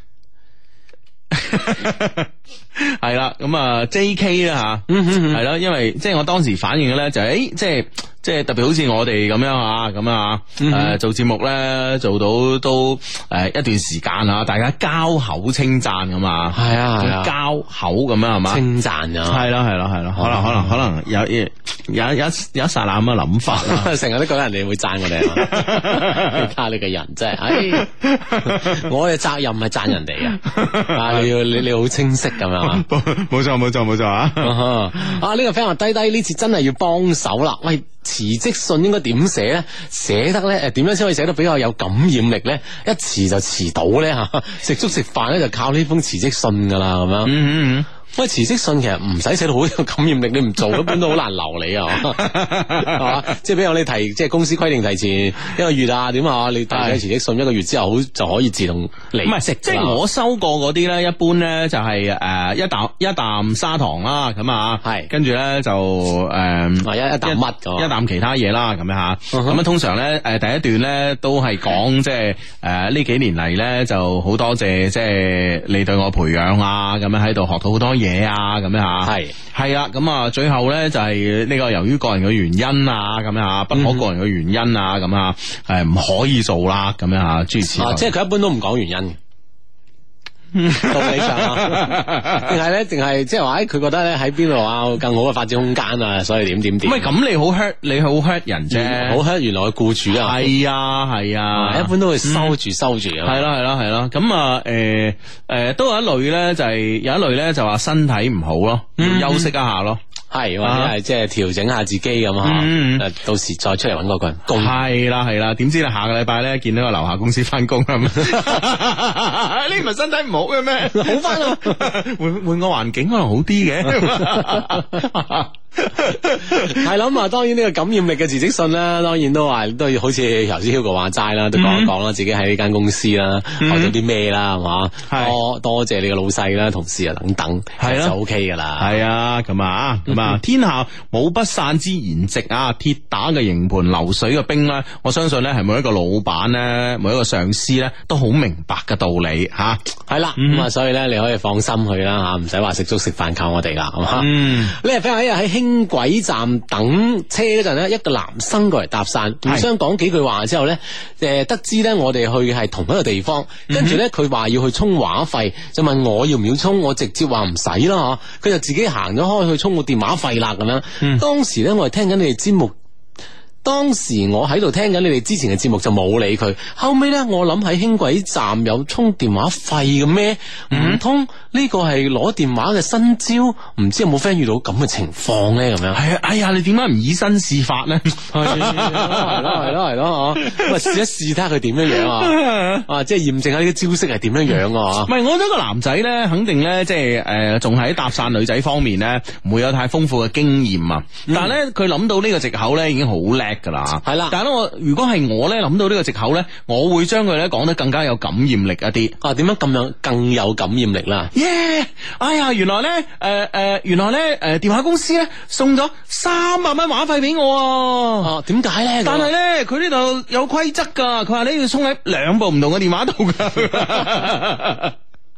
係啦，咁啊 J K 啦吓，係啦，因為即係我當時反應嘅咧就係，誒，即係即係特別好似我哋咁樣啊，咁啊，誒做節目咧做到都誒一段時間啊，大家交口稱讚咁啊， 係啊係啊， 交口咁樣係嘛， 稱讚啊， 係咯係咯係咯，可能可能可能有有有有一剎那咁嘅諗法啦， 成日都覺得人哋會讚我哋，你睇下你個人真係，唉，我嘅責任係讚人哋啊，啊你要你你好清晰咁樣。 冇錯冇錯冇錯啊！ 啊呢個 friend 話低低呢次真係要幫手啦！喂，辭職信應該點寫咧？寫得咧誒，點樣先可以寫得比較有感染力咧？一辭就辭到咧吓，食粥食飯咧就靠呢封辭職信噶啦，咁樣。嗯嗯嗯。喂，辭職信其實唔使寫到好有感染力，你唔做一般都好難留你啊，係嘛？即係比如你提，即係公司規定提前一個月啊，點啊？你提咗辭職信一個月之後，好就可以自動離職。 即係我收過嗰啲咧，一般咧就係誒一啖一啖砂糖啦，咁啊，係跟住咧就誒一一啖乜嘅， 一啖其他嘢啦，咁樣吓。咁啊，通常咧誒第一段咧都係講即係誒呢幾年嚟咧就好多謝即係你對我培養啊，咁樣喺度學到好多嘢啊，咁樣吓，係係啦，咁啊，最後咧就係呢個由於個人嘅原因啊，咁樣吓，不可個人嘅原因啊，咁啊，係唔可以做啦，咁樣吓，諸如此類。 即係佢一般都唔講原因。道理上啊，定係咧，定係即係話，誒，佢覺得咧喺邊度啊，更好嘅發展空間啊，所以點點點。 唔係咁，你好 hurt，你好 hurt 人啫， 好 hurt 原來嘅僱主啊。 係啊，係啊， 一般都會收住收住。 係啦，係啦，係啦。咁啊，誒誒，都有一類咧，就係有一類咧，就話身體唔好咯，要休息一下咯。係或者係即係調整下自己咁啊，嗯、到時再出嚟搵嗰個人工。 係啦係啦，點知咧下個禮拜咧見到個樓下公司翻工啦，你唔係身體唔好嘅咩？ 好翻啊， 換換個環境可能好啲嘅。 係啦，咁啊，當然呢個感染力嘅辭職信啦，當然都話都要好似頭先 Hugo 話齋啦，都講一講啦，自己喺呢間公司啦，學到啲咩啦，係嘛，多多謝你個老細啦、同事啊等等，係啦，就 OK 噶啦。係啊，咁啊，咁啊，天下冇不散之筵席啊，鐵打嘅營盤流水嘅兵咧，我相信咧係每一個老闆咧，每一個上司咧都好明白嘅道理吓。係啦，咁啊，所以咧你可以放心去啦吓，唔使話食粥食飯靠我哋啦，係嘛。嗯，呢日 friend 喺喺輕軌站等車嗰陣咧，一個男生過嚟搭訕，互相講幾句話之後咧，誒，得知咧我哋去係同一個地方，跟住咧佢話要去充話費，就問我要唔要充，我直接話唔使啦吓，佢就自己行咗開去充個電話費啦咁樣。嗯、當時咧我係聽緊你哋節目。當時我喺度聽緊你哋之前嘅節目就冇理佢，後尾咧我諗喺輕軌站有充電話費嘅咩？唔通呢個係攞電話嘅新招？唔知有冇 friend 遇到咁嘅情況咧？咁樣係啊，哎呀，你點解唔以身試法咧？係咯係咯係咯，咁啊試一試睇下佢點樣樣啊！啊，即係驗證下呢啲招式係點樣樣啊！唔係，我覺得個男仔咧，肯定咧，即係誒，仲喺搭訕女仔方面咧，唔會有太豐富嘅經驗啊！嗯、但係咧，佢諗到呢個藉口咧，已經好叻噶啦，係啦。但係咧，我如果係我咧諗到呢個藉口咧，我會將佢咧講得更加有感染力一啲。啊，點樣咁樣更有感染力啦？耶！Yeah! 哎呀，原來咧，誒、呃、誒、呃，原來咧，誒、呃，電話公司咧送咗三百蚊話費俾我。哦，點解咧？但係咧，佢呢度有規則噶，佢話你要充喺兩部唔同嘅電話度噶。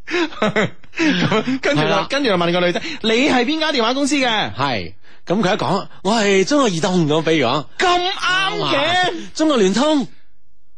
跟住就跟住就問個女仔，你係邊間電話公司嘅？係。咁佢一講，我係中國移動咁，比如講咁啱嘅，中國聯通。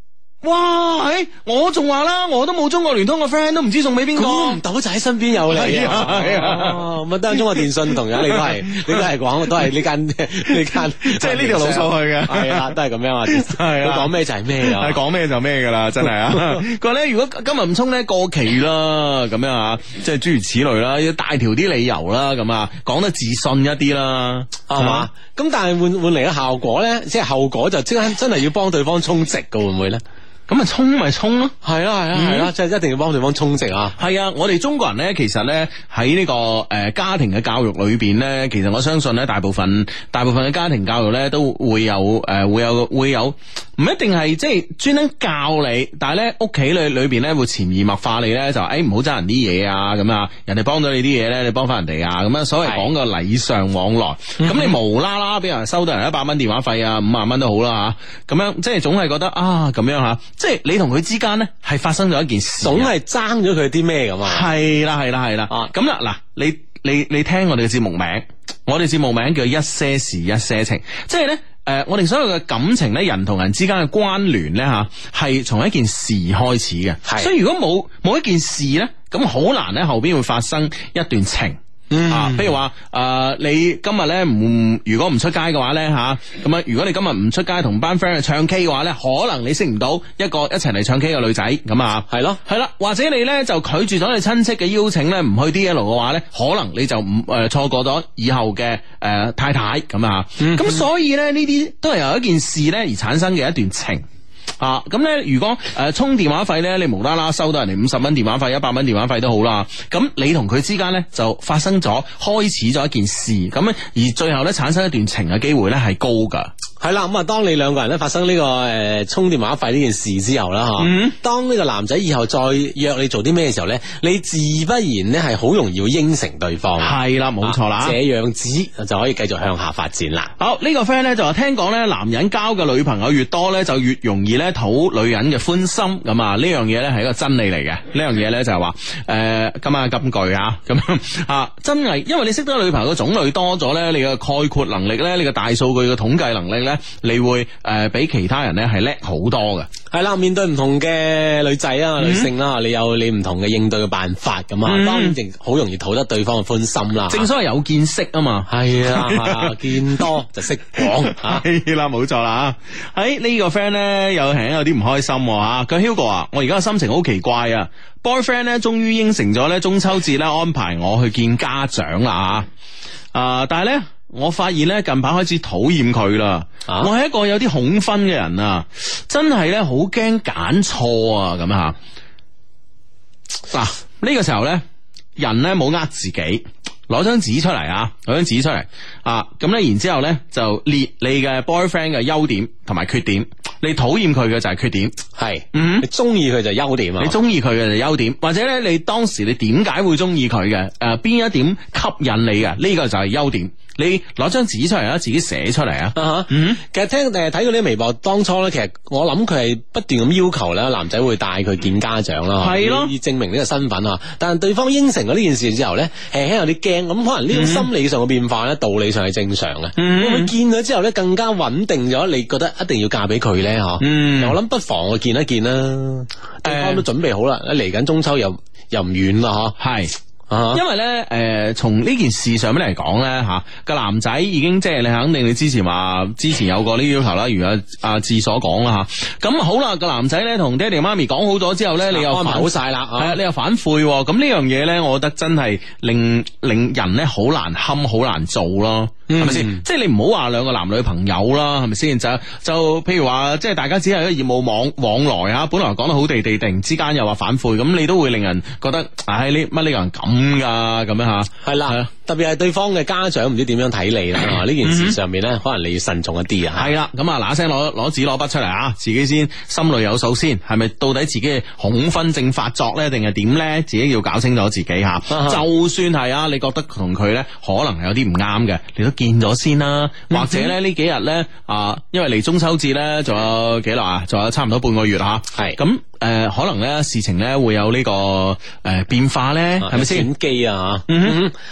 哇！誒，我仲話啦，我都冇中國聯通個 friend，都唔知送俾邊個。 估唔到就喺身邊有你啊！係啊， 咁啊，當然中國電信同樣你都係，你都係講，都係呢間呢間， 即係呢條路數去嘅。 係啊，都係咁樣啊。係啊，講咩就係咩啊， 係講咩就咩噶啦，真係啊！佢話咧，如果今日唔充咧過期啦，咁樣啊，即係諸如此類啦，要大條啲理由啦，咁啊，講得自信一啲啦， 係嘛？咁但係換換嚟嘅效果咧，即係後果就即刻真係要幫對方充值嘅，會唔會咧？ 咁咪充咪充咯， 係啦係啦係啦，即係一定要幫對方充值啊！ 係啊，我哋中國人咧，其實咧喺呢個誒家庭嘅教育裏邊咧，其實我相信咧，大部分大部分嘅家庭教育咧都會有誒會有會有，唔一定係即係專登教你，但係咧屋企裏裏邊咧會潛移默化你咧就誒唔好爭人啲嘢啊，咁啊，人哋幫到你啲嘢咧，你幫翻人哋啊，咁啊，所謂講個禮尚往來。咁你無啦啦俾人收到人一百蚊電話費啊，五萬蚊都好啦吓，咁樣即係總係覺得啊咁樣吓。即係你同佢之間咧，係發生咗一件事， 總係爭咗佢啲咩咁啊？ 係啦，係啦，係啦。咁啦，嗱，你你你聽我哋嘅節目名，我哋節目名叫一些事一些情，即係咧，誒、呃，我哋所有嘅感情咧，人同人之間嘅關聯咧，吓，係從一件事開始嘅。係，所以如果冇冇一件事咧，咁好難咧後邊會發生一段情。嗯、啊，譬如話誒、呃，你今日咧唔如果唔出街嘅話咧吓，咁啊，如果你今日唔出街同班 friend 去唱 K 嘅話咧，可能你識唔到一個一齊嚟唱 K 嘅女仔，咁啊，係咯，係啦，或者你咧就拒絕咗你親戚嘅邀請咧，唔去 D L 嘅話咧，可能你就唔誒錯過咗以後嘅誒、呃、太太咁啊，咁、嗯、所以咧呢啲都係由一件事咧而產生嘅一段情。啊，咁咧，如果誒、呃、充電話費咧，你無啦啦收到人哋五十蚊電話費、一百蚊電話費都好啦，咁你同佢之間咧就發生咗開始咗一件事，咁咧而最後咧產生一段情嘅機會咧係高噶。 係啦，咁啊，當你兩個人咧發生呢、這個誒、呃、充電話費呢件事之後啦，吓、嗯，當呢個男仔以後再約你做啲咩嘅時候咧，你自不然咧係好容易要應承對方。係啦，冇錯啦，啊、這樣子就可以繼續向下發展啦。 好，呢、這個 friend 咧就話聽講咧，男人交嘅女朋友越多咧，就越容易咧討女人嘅歡心。咁啊，呢樣嘢咧係一個真理嚟嘅。呢樣嘢咧就係話誒，今晚金句啊，咁啊，真係，因為你識得女朋友嘅種類多咗咧，你嘅概括能力咧，你嘅大數據嘅統計能力咧。你會誒、呃、比其他人咧係叻好多嘅。 係啦，面對唔同嘅女仔啊、嗯、女性啦，你有你唔同嘅應對嘅辦法咁啊，嗯、當然好容易討得對方嘅歡心啦。 正所謂有見識啊嘛， 係啊，見多就識講， 係啦，冇錯啦。喺呢個 friend 咧有係有啲唔開心吓，佢 Hugo 啊，我而家嘅心情好奇怪啊 ，boyfriend 咧終於應承咗咧中秋節咧安排我去見家長啦吓，啊，但係咧。我發現咧近排開始討厭佢啦，啊、我係一個有啲恐婚嘅人啊，真係咧好驚揀錯啊咁吓。嗱呢、啊呢個時候咧，人咧冇呃自己，攞張紙出嚟啊，攞張紙出嚟啊，咁咧然之後咧就列你嘅 boyfriend 嘅優點同埋缺點。你討厭佢嘅就係缺點，係，嗯，你中意佢就係優點啊，你中意佢嘅就係優點，或者咧你當時你點解會中意佢嘅？誒、呃，邊一點吸引你嘅？呢、這個就係優點。你攞張紙出嚟啊，自己寫出嚟啊。Uh-huh. 嗯，其實聽誒睇到啲微博，當初咧，其實我諗佢係不斷咁要求咧，男仔會帶佢見家長啦，係咯，以證明呢個身份啊。但係對方應承咗呢件事之後咧，輕輕有啲驚，咁可能呢種心理上嘅變化咧，道理上係正常嘅。嗯，會唔會見咗之後咧，更加穩定咗？你覺得一定要嫁俾佢咧？嗬，嗯，我諗不妨去見一見啦。對方都準備好啦，嚟緊中秋又又唔遠啦，嗬，係。Uh-huh. 因為咧，誒、呃，從呢件事上面嚟講咧，吓、啊、個男仔已經即係你肯定你之前話之前有過呢啲要求啦，如阿阿志所講啦吓。咁、啊、好啦，個男仔咧同爹哋媽咪講好咗之後咧，你又安排好晒啦，係啊，你又反悔，咁呢樣嘢咧，我覺得真係令令人咧好難堪，好難做咯。係咪先？即係你唔好話兩個男女朋友啦，係咪先？就就譬如話，即係大家只係一個業務往往來吓，本來講得好地地，突然之間又話反悔，咁你都會令人覺得，唉，呢乜呢個人咁噶？咁樣吓，係啦，特別係對方嘅家長唔知點樣睇你啦。呢件事上面咧，可能你要慎重一啲啊。係啦，咁啊嗱聲攞攞紙攞筆出嚟啊，自己先心裏有數先，係咪到底自己嘅恐婚症發作咧，定係點咧？自己要搞清楚自己吓。Uh-huh. 就算係啊，你覺得同佢咧可能係有啲唔啱嘅，你都見咗先啦，或者咧呢幾日咧啊，因為離中秋節咧仲有幾耐啊，仲有差唔多半個月吓，係咁誒，可能咧事情咧會有呢、這個誒、呃、變化咧，係咪先？轉機啊，嗯哼，啊呢、這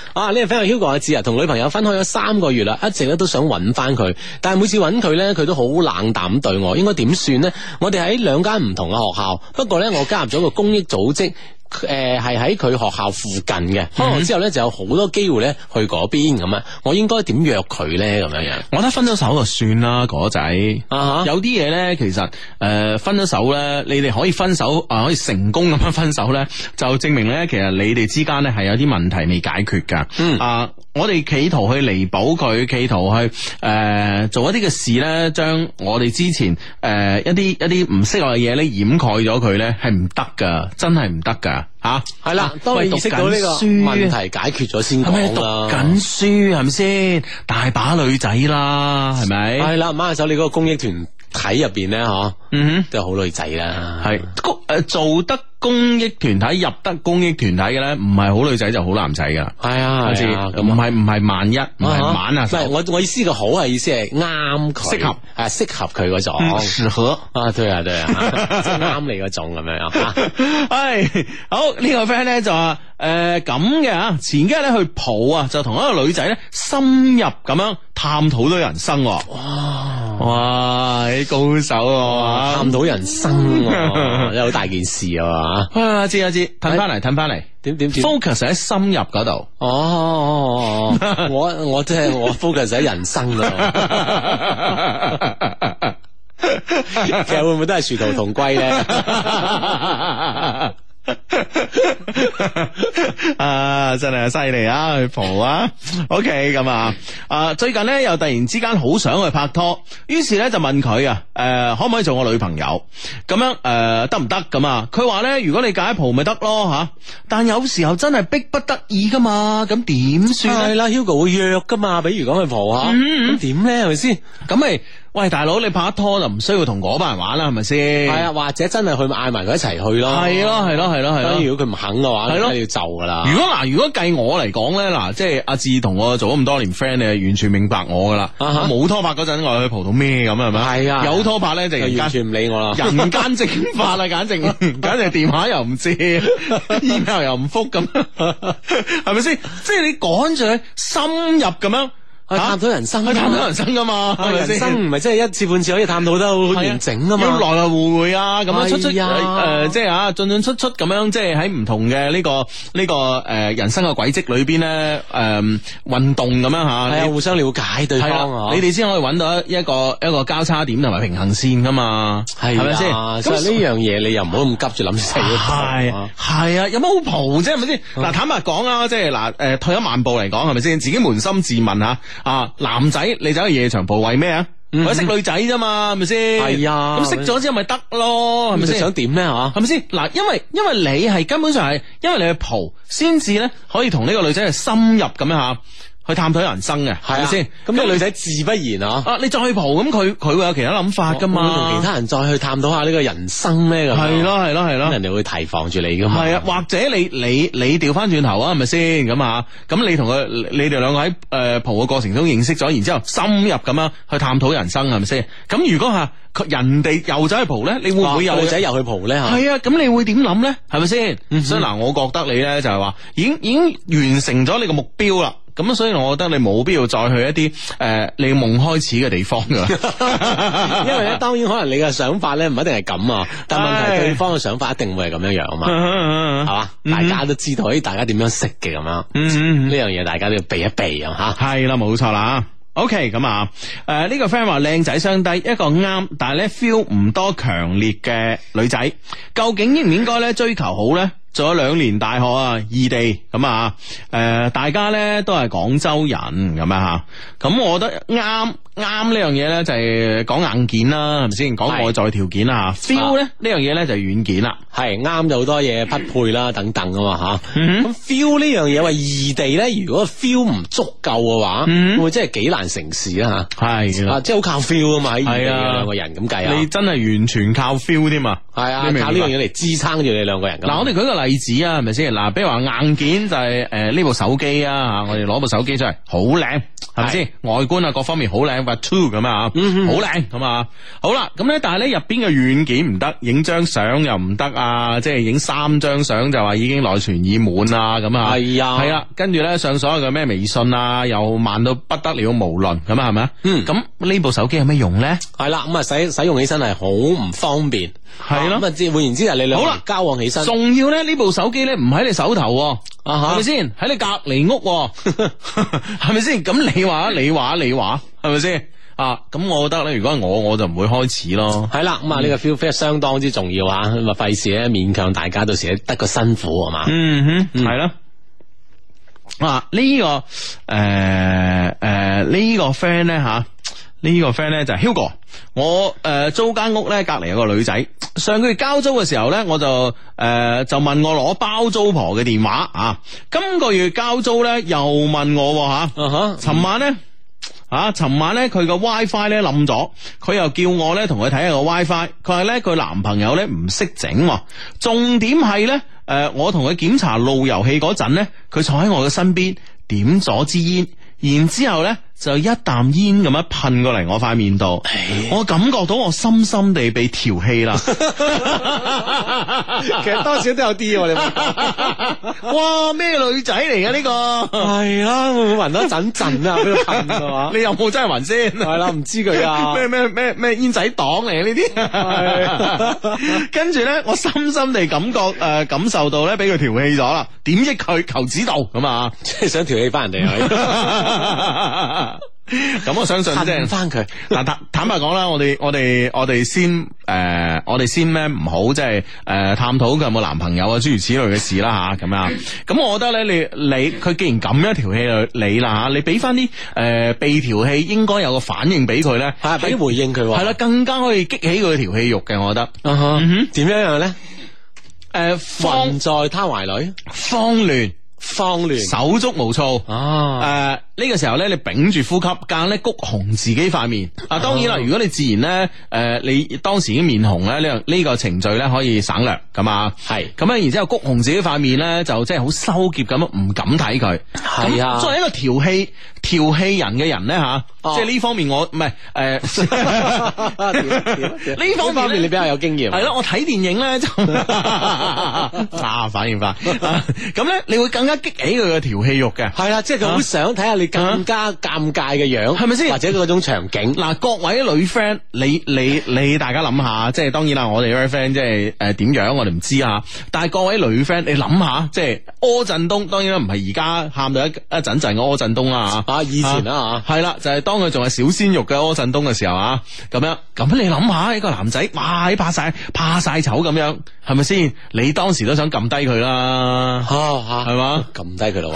呢個 friend Hugo 阿志啊，同女朋友分開咗三個月啦，一直咧都想揾翻佢，但係每次揾佢咧，佢都好冷淡對我，應該點算呢？我哋喺兩間唔同嘅學校，不過咧我加入咗個公益組織。誒，係喺佢學校附近嘅，可能之後咧就有好多機會咧去嗰邊咁啊！我應該點約佢咧？咁樣樣， 我覺得分咗手就算啦，哥仔。啊、uh，huh. 有啲嘢咧，其實誒、呃、分咗手咧，你哋可以分手啊、呃，可以成功咁樣分手咧，就證明咧，其實你哋之間咧係有啲問題未解決噶。嗯啊。我哋企圖去彌補佢，企圖去誒、呃、做一啲嘅事咧，將我哋之前誒、呃、一啲一啲唔適合嘅嘢咧掩蓋咗佢咧，係唔得噶，真係唔得噶吓。係啦，當你意識到呢個問題解決咗先講啦。係咪讀緊書係咪先？大把女仔啦，係咪？係啦，馬下手你嗰個公益團體入邊咧，嗬，嗯哼，都有好女仔啦。係，誒做得。公益團體入得公益團體嘅咧，唔係好女仔就好男仔噶。係啊，好似唔係唔係萬一，唔係晚啊。唔係我我意思嘅好係意思係啱佢，適合係適合佢嗰種。適合啊，對啊對啊，即係啱你嗰種咁樣啊。係好呢個 friend 咧就話誒咁嘅啊，前幾日咧去蒲啊，就同一個女仔咧深入咁樣探討咗人生。哇哇，你高手啊！探討人生，真係好大件事啊！啊，知啊知，褪翻嚟，褪翻嚟，點點 focus 喺深入嗰度。哦，我我即係我 focus 喺人生度。其實會唔會都係殊途同歸咧？啊，真係犀利啊！去蒲啊 ，OK 咁啊，啊最近咧又突然之間好想去拍拖，於是咧就問佢啊，誒、呃、可唔可以做我女朋友？咁樣誒得唔得咁啊？佢話咧如果你介蒲咪得咯吓，但有時候真係逼不得已噶嘛，咁點算？係啦 ，Hugo 會約噶嘛，比如講去蒲吓，咁點咧係咪先？咁咪。喂，大佬，你拍拖就唔需要同嗰班人玩啦，係咪先？係啊，或者真係去嗌埋佢一齊去咯。係咯，係咯，係咯，係咯。如果佢唔肯嘅話，係咯，要就噶啦。如果嗱，如果計我嚟講咧，嗱，即係阿志同我做咗咁多年 friend，你係完全明白我噶啦。冇拖拍嗰陣，我去蒲到咩咁係咪？係啊。有拖拍咧，就完全唔理我啦。人間蒸發啦，簡直，簡直電話又唔接，email 又唔復咁，係咪先？即係你趕住去深入咁樣。去探討人生，去探討人生噶嘛？人生唔係即係一次半次可以探討得好完整啊嘛？要來來回回啊，咁樣出出誒，即係啊進進出出咁樣，即係喺唔同嘅呢個呢個誒人生嘅軌跡裏邊咧，誒運動咁樣吓，係啊，互相了解對方，你哋先可以揾到一個一個交叉點同埋平衡線噶嘛？係咪先？所以呢樣嘢你又唔好咁急住諗死。係係啊，有乜好蒲啫？係咪先？嗱，坦白講啊，即係嗱，誒退一萬步嚟講，係咪先？自己捫心自問吓。啊，男仔你走去夜場蒲為咩啊？嗯、我識女仔啫嘛，係咪先？係啊，咁識咗之後咪得咯，係咪先？想點咧？吓，係咪先？嗱，因為因為你係根本上係因為你去蒲，先至咧可以同呢個女仔係深入咁樣吓。去探討人生嘅，係咪先？咁呢個女仔自不然啊！啊，你再去蒲，咁佢佢會有其他諗法噶嘛？同其他人再去探討下呢個人生咧，咁係咯係咯係咯，人哋會提防住你噶嘛？係啊，或者你你你調翻轉頭啊，係咪先？咁啊，咁你同佢你哋兩個喺誒蒲嘅過程中認識咗，然之後深入咁樣去探討人生，係咪先？咁如果吓人哋又走去蒲咧，你會唔會有女仔又去蒲咧？係啊，咁你會點諗咧？係咪先？所以嗱，我覺得你咧就係話，已經已經完成咗你個目標啦。咁所以我覺得你冇必要再去一啲誒、呃、你夢開始嘅地方噶，因為咧當然可能你嘅想法咧唔一定係咁啊，但係問題對方嘅想法一定會係咁樣樣啊嘛，係嘛？大家都知道，誒，大家點樣識嘅咁樣，呢樣嘢大家都要避一避啊吓。係啦，冇錯啦。OK，咁啊，誒、呃、呢、這個 friend 話靚仔相低，一個啱，但係咧 feel 唔多強烈嘅女仔，究竟應唔應該咧追求好咧？做咗兩年大學啊，異地咁啊，誒、呃，大家咧都係廣州人咁啊吓，咁我覺得啱啱呢樣嘢咧就係講硬件啦，係咪先？講外在條件啊 feel 咧呢樣嘢咧就係軟件啦，係啱就好多嘢匹配啦，等等啊嘛吓。咁 feel 呢樣嘢話異地咧，如果 feel 唔足夠嘅話，嗯、會真係幾難成事啊吓。係啊，即係好靠 feel 啊嘛，喺異地嘅兩個人咁計啊，你真係完全靠 feel 添啊，係啊，靠呢樣嘢嚟支撐住你兩個人。嗱，我哋舉個例子啊，係咪先？嗱，比如話硬件就係誒呢部手機啊，我哋攞部手機出嚟好靚，係咪先？外觀啊各方面好靚。 Camera Two 咁啊，好靚咁啊，好啦，咁咧但係咧入邊嘅軟件唔得，影張相又唔得啊，即係影三張相就話已經內存已滿啊，咁啊， 係啊， 係啊，跟住咧上所有嘅咩微信啊，又慢到不得了，無論咁啊，係咪啊？嗯，咁呢部手機有咩用咧？ 係啦，咁啊使使用起身係好唔方便， 係咯， 咁啊即係換言之係你兩好啦交往起身， 仲要咧呢部手機咧唔喺你手頭，啊係咪先？喺你隔籬屋，係咪先？咁你話你話你話係咪先？啊，咁我覺得咧，如果係我，我就唔會開始咯。係啦，咁啊呢個 feel feel 相當之重要啊，咁啊費事咧勉強大家到時得個辛苦係嘛。嗯哼，係咯。啊呢個誒誒呢個 friend 咧吓。呢個 friend 咧就係 Hugo， 我誒、呃、租間屋咧隔籬有個女仔，上個月交租嘅時候咧，我就誒、呃、就問我攞包租婆嘅電話啊，今個月交租咧又問我吓，尋、uh huh. 晚咧啊，尋晚咧佢個 WiFi 咧冧咗，佢又叫我咧同佢睇下個 WiFi，佢話咧佢男朋友咧唔識整，重點係咧誒我同佢檢查路由器嗰陣咧，佢坐喺我嘅身邊點咗支煙。然之後咧，就一啖煙咁樣噴過嚟我塊面度，我感覺到我深深地被調戲啦。其實多少都有啲，你哇咩女仔嚟嘅呢個？係啦，會唔會聞到一陣陣啊？俾佢噴係嘛？你有冇真係聞先？係啦，唔知佢啊。咩咩咩咩煙仔黨嚟嘅呢啲？跟住咧，我深深地感覺誒、呃，感受到咧，俾佢調戲咗啦。點益佢求指導咁啊？即係想調戲翻人哋啊！咁我相信即係翻佢嗱，坦坦白講啦，我哋我哋我哋先誒、呃，我哋先咩唔好即係誒探討佢有冇男朋友啊，諸如此類嘅事啦吓，咁啊，咁我覺得咧，你你佢既然咁樣調戲你啦吓，你俾翻啲誒被調戲應該有個反應俾佢咧，係俾啲回應佢，係啦，更加可以激起佢嘅調戲欲嘅，我覺得，嗯哼，點樣樣咧？誒、呃，放在他懷裏，慌亂。慌亂，手足無措啊！誒、呃，呢、這個時候咧，你屏住呼吸，間咧谷紅自己塊面。啊，當然啦，如果你自然咧，誒、呃，你當時已經面紅咧，呢、這個呢個程序咧可以省略，咁啊，係咁樣，然之後谷紅自己塊面咧，就即係好收結咁，唔敢睇佢。係啊，作為一個調戲調戲人嘅人咧，吓、啊，哦、即係呢方面我唔係誒，呢方面你比較有經驗。係咯，我睇電影咧就啊，反應快。咁咧，你會更加激起佢嘅調戲欲嘅，係啦，即係佢好想睇下你更加尷尬嘅樣，係咪先？或者嗰種場景。嗱，各位女 friend，你你你大家諗下，即係當然啦，我哋 friend 即係誒點樣，我哋唔知啊。但係各位女 friend，你諗下，即係柯震東，當然啦，唔係而家喊到一一陣陣嘅柯震東啦吓，啊，以前啦吓，係啦，就係當佢仲係小鮮肉嘅柯震東嘅時候啊，咁樣，咁你諗下，一個男仔，哇，怕晒怕晒醜咁樣，係咪先？你當時都想撳低佢啦，吓吓，係嘛？撳低佢咯，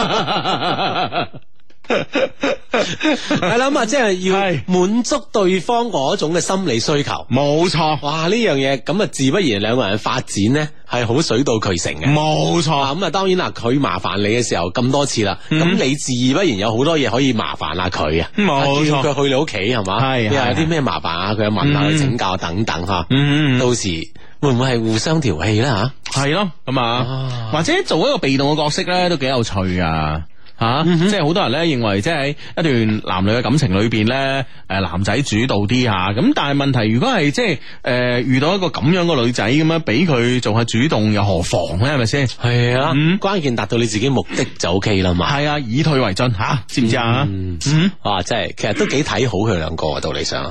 係啦咁啊，即係要滿足對方嗰種嘅心理需求，冇錯。哇，呢樣嘢咁啊，自不然兩個人發展咧係好水到渠成嘅，冇錯。咁啊，當然啦，佢麻煩你嘅時候咁多次啦，咁、嗯、你自不然有好多嘢可以麻煩下佢啊，冇錯。佢去你屋企係嘛，係有啲咩麻煩啊，佢又問下佢請教等等吓，嗯，到時會唔會係互相調戲咧吓？係咯，咁啊，或者做一個被動嘅角色咧，都幾有趣啊！吓，啊嗯、即係好多人咧認為，即係一段男女嘅感情裏邊咧，誒男仔主導啲吓，咁但係問題如果係即係誒、呃、遇到一個咁樣嘅女仔咁樣，俾佢做下主動又何妨咧？係咪先？係啊，嗯、關鍵達到你自己目的就 OK 啦嘛。係啊，以退為進吓、啊，知唔知啊？嗯，嗯啊，即係其實都幾睇好佢兩個啊，道理上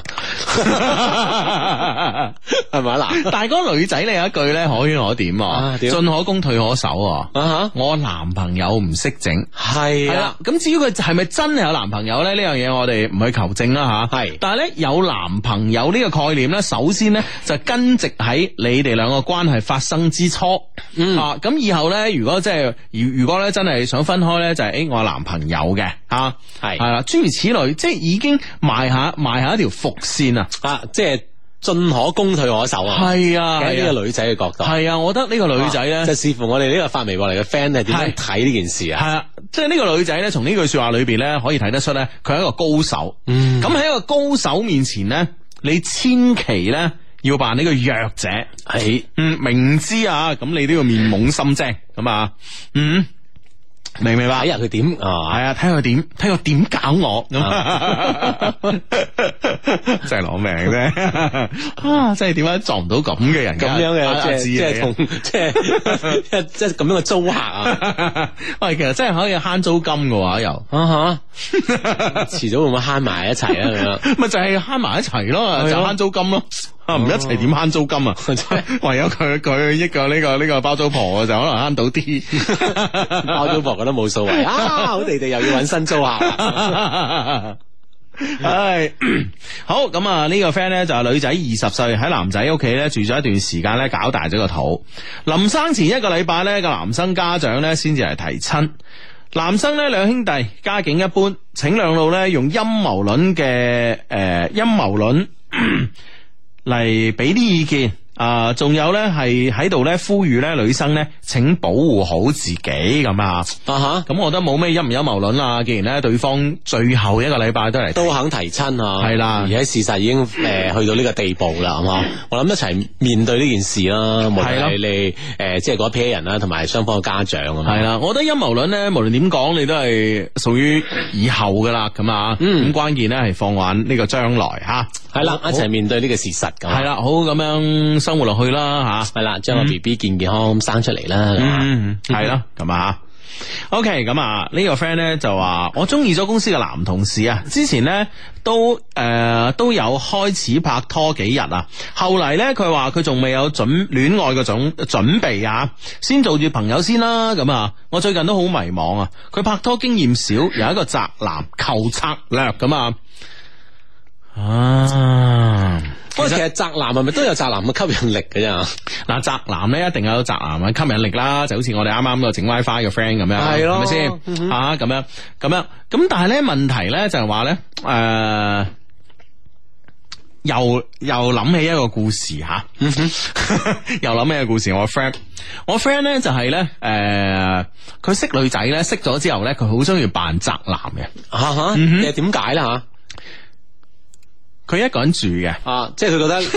係咪嗱？但係嗰個女仔你有一句咧，可圈可點啊，進可攻退可守啊。啊哈，我男朋友唔識整係。係啦，咁至於佢係咪真係有男朋友咧？呢樣嘢我哋唔去求證啦吓。係是，但係咧有男朋友呢個概念咧，首先咧就根植喺你哋兩個關係發生之初。嗯、啊，咁以後咧，如果即係如如果咧真係想分開咧，就係、是、誒我有男朋友嘅啊，係係啦，諸如此類，即係已經埋下埋下一條伏線啊，啊，即係。進可攻退可守啊！係啊，喺呢個女仔嘅角度，係啊，我覺得呢個女仔咧，就視乎我哋呢個發微博嚟嘅 friend 係點樣睇呢件事啊！係啊，即係呢個女仔咧，從呢句說話裏邊咧，可以睇得出咧，佢係一個高手。嗯，咁喺一個高手面前咧，你千祈咧要扮呢個弱者。係，嗯，明知啊，咁你都要面懵心精咁啊，嗯。 明唔明白？ 睇下佢點啊， 係啊，睇佢點，睇佢點搞我咁，真係攞命啫！啊，真係點解撞唔到咁嘅人？ 咁樣嘅即係即係同即係即係咁樣嘅租客啊！ 喂，其實真係可以慳租金嘅話，又啊吓，遲早會唔會慳埋一齊啊？咁樣咪就係慳埋一齊咯，就慳租金咯。唔一齊點慳租金啊？唯有佢佢益個呢個呢個包租婆就可能慳到啲， 包租婆覺得冇數謂啊！好地地又要揾新租客。 唉，好咁啊！呢個 friend 咧就係女仔二十歲喺男仔屋企咧住咗一段時間咧，搞大咗個肚。臨生前一個禮拜咧，個男生家長咧先至嚟提親。男生咧兩兄弟家境一般，請兩老咧用陰謀論嘅誒陰謀論嚟俾啲意見啊，仲有咧係喺度咧呼籲咧女生咧請保護好自己咁啊，啊哈，咁我覺得冇咩陰唔陰謀論啦。既然咧對方最後一個禮拜都嚟都肯提親啊， 係啦， 而且事實已經誒、呃、去到呢個地步啦，係嘛？我諗一齊面對呢件事啦，無論係你誒、呃、即係嗰一批人啦，同埋雙方嘅家長啊， 係啦，我覺得陰謀論咧，無論點講，你都係屬於以後噶啦，咁啊，咁關鍵咧係放眼呢個將來吓。 係啦，一齊面對呢個事實咁。 係啦，好咁樣生活落去啦吓。 係啦，將個 B B 健健康康生出嚟啦。 嗯，係啦，咁啊。OK，咁啊呢個 friend 咧就話我中意咗公司嘅男同事啊，之前咧都誒、呃、都有開始拍拖幾日啊，後嚟咧佢話佢仲未有準戀愛嘅種準備啊，先做住朋友先啦。咁啊，我最近都好迷茫啊，佢拍拖經驗少，有一個宅男求策略咁啊。啊， 不過其實宅男係咪都有宅男嘅吸引力嘅啫？ 嗱，宅男咧一定有宅男嘅吸引力啦，就好似我哋啱啱個整 WiFi 嘅 friend 咁樣，係咯，係咪先？嗯、啊，咁樣咁樣，咁但係咧問題咧就係話咧，誒、呃，又又諗起一個故事吓，又諗起一個故事，我 friend，我 friend 咧就係咧，誒、呃，佢識女仔咧，識咗之後咧，佢好中意扮宅男嘅， 吓吓，其實點解咧吓？ 佢一個人住嘅， 啊，即係佢覺得，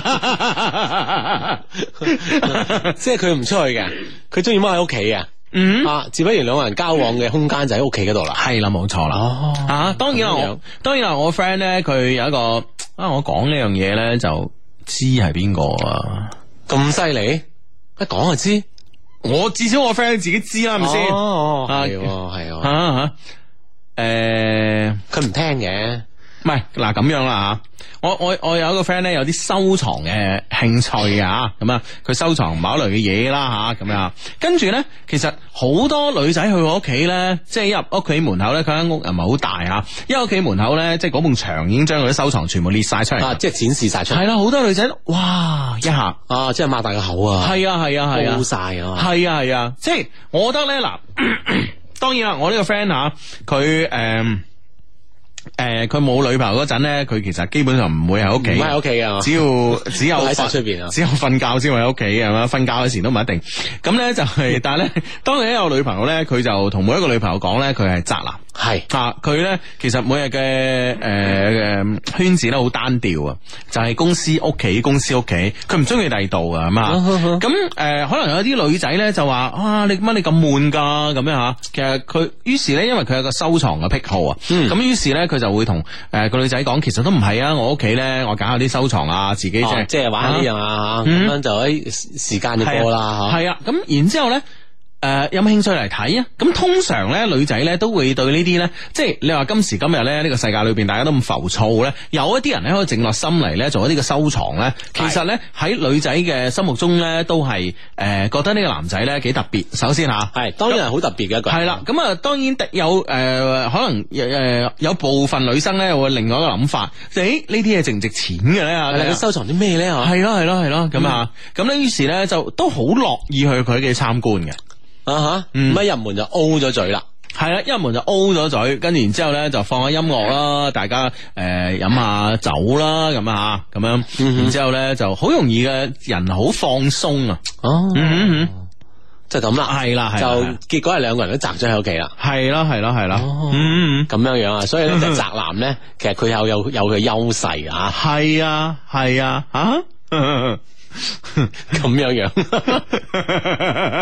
即係佢唔出去嘅，佢中意踎喺屋企嘅，嗯，啊，自不然兩個人交往嘅空間就喺屋企嗰度啦， 係啦，冇錯啦，哦，啊，當然啦，我當然啦，我 friend 咧，佢有一個啊，我講呢樣嘢咧就知係邊個啊， 咁犀利，一講就知， 我至少我 friend 自己知啦，係咪先？ 哦，係，係， 吓吓，誒， 佢唔聽嘅。 唔係嗱咁樣啦吓，我我我有一個 friend 咧有啲收藏嘅興趣啊，咁啊佢收藏某類嘅嘢啦吓，咁樣跟住咧，其實好多女仔去我屋企咧，即係一入屋企門口咧，佢間屋又唔係好大吓，一屋企門口咧，即係嗰埲牆已經將佢啲收藏全部列晒出嚟， 啊，即係展示晒出嚟。係啦，好多女仔哇一下啊，即係擘大個口啊， 係啊係啊係啊， 高晒啊， 係啊係啊，即係我覺得咧嗱，當然啦，我呢個 friend 吓佢誒。誒，佢冇、呃、女朋友嗰陣咧，佢其實基本上唔會喺屋企， 唔喺屋企啊， 只要只有喺晒出邊啊， 只有瞓覺先會喺屋企係嘛，瞓覺嘅時都唔一定。咁咧就係、是，但係咧，當佢一有女朋友咧，佢就同每一個女朋友講咧，佢係宅男，係是啊，佢咧其實每日嘅誒誒圈子咧好單調啊，就係、是、公司屋企，公司屋企，佢唔中意第二度啊，係嘛。咁誒、呃，可能有啲女仔咧就話啊，你乜你咁悶噶咁樣吓。其實佢於是咧，因為佢有個收藏嘅癖好啊，咁於、嗯、是咧。佢就會同誒個女仔講，其實都唔係啊！我屋企咧，我搞下啲收藏啊，自己即係即係玩呢樣啊，咁、嗯、樣就喺時間就過啦。 係啊，咁、啊、然之後咧。誒、呃，有冇興趣嚟睇啊？咁通常咧，女仔咧都會對呢啲咧，即係你話今時今日咧呢、這個世界裏邊大家都咁浮躁咧，有一啲人咧可以靜落心嚟咧做一啲嘅收藏咧，其實咧喺女仔嘅心目中咧都係誒、呃、覺得呢個男仔咧幾特別。首先吓係，當然係好特別嘅一個人。係啦，咁啊當然有誒、呃、可能誒、呃、有部分女生咧會另外一個諗法，誒呢啲嘢值唔值錢嘅咧？你收藏啲咩咧？係咯係咯係咯咁啊，咁咧於是咧就都好樂意去佢嘅參觀嘅。啊哈，嗯，咁一入門就 O 咗嘴啦，係啦，一入門就 O 咗嘴，跟住然之後咧就放下音樂啦，大家誒飲下酒啦，咁啊咁樣，嗯、然之後咧就好容易嘅人好放鬆啊，哦，嗯嗯，就咁啦，係啦，就結果係兩個人都宅咗喺屋企啦，係啦係啦係啦，嗯，咁樣樣啊，所以咧就宅男咧，其實佢有有有佢優勢啊，係啊係啊，啊，咁樣樣。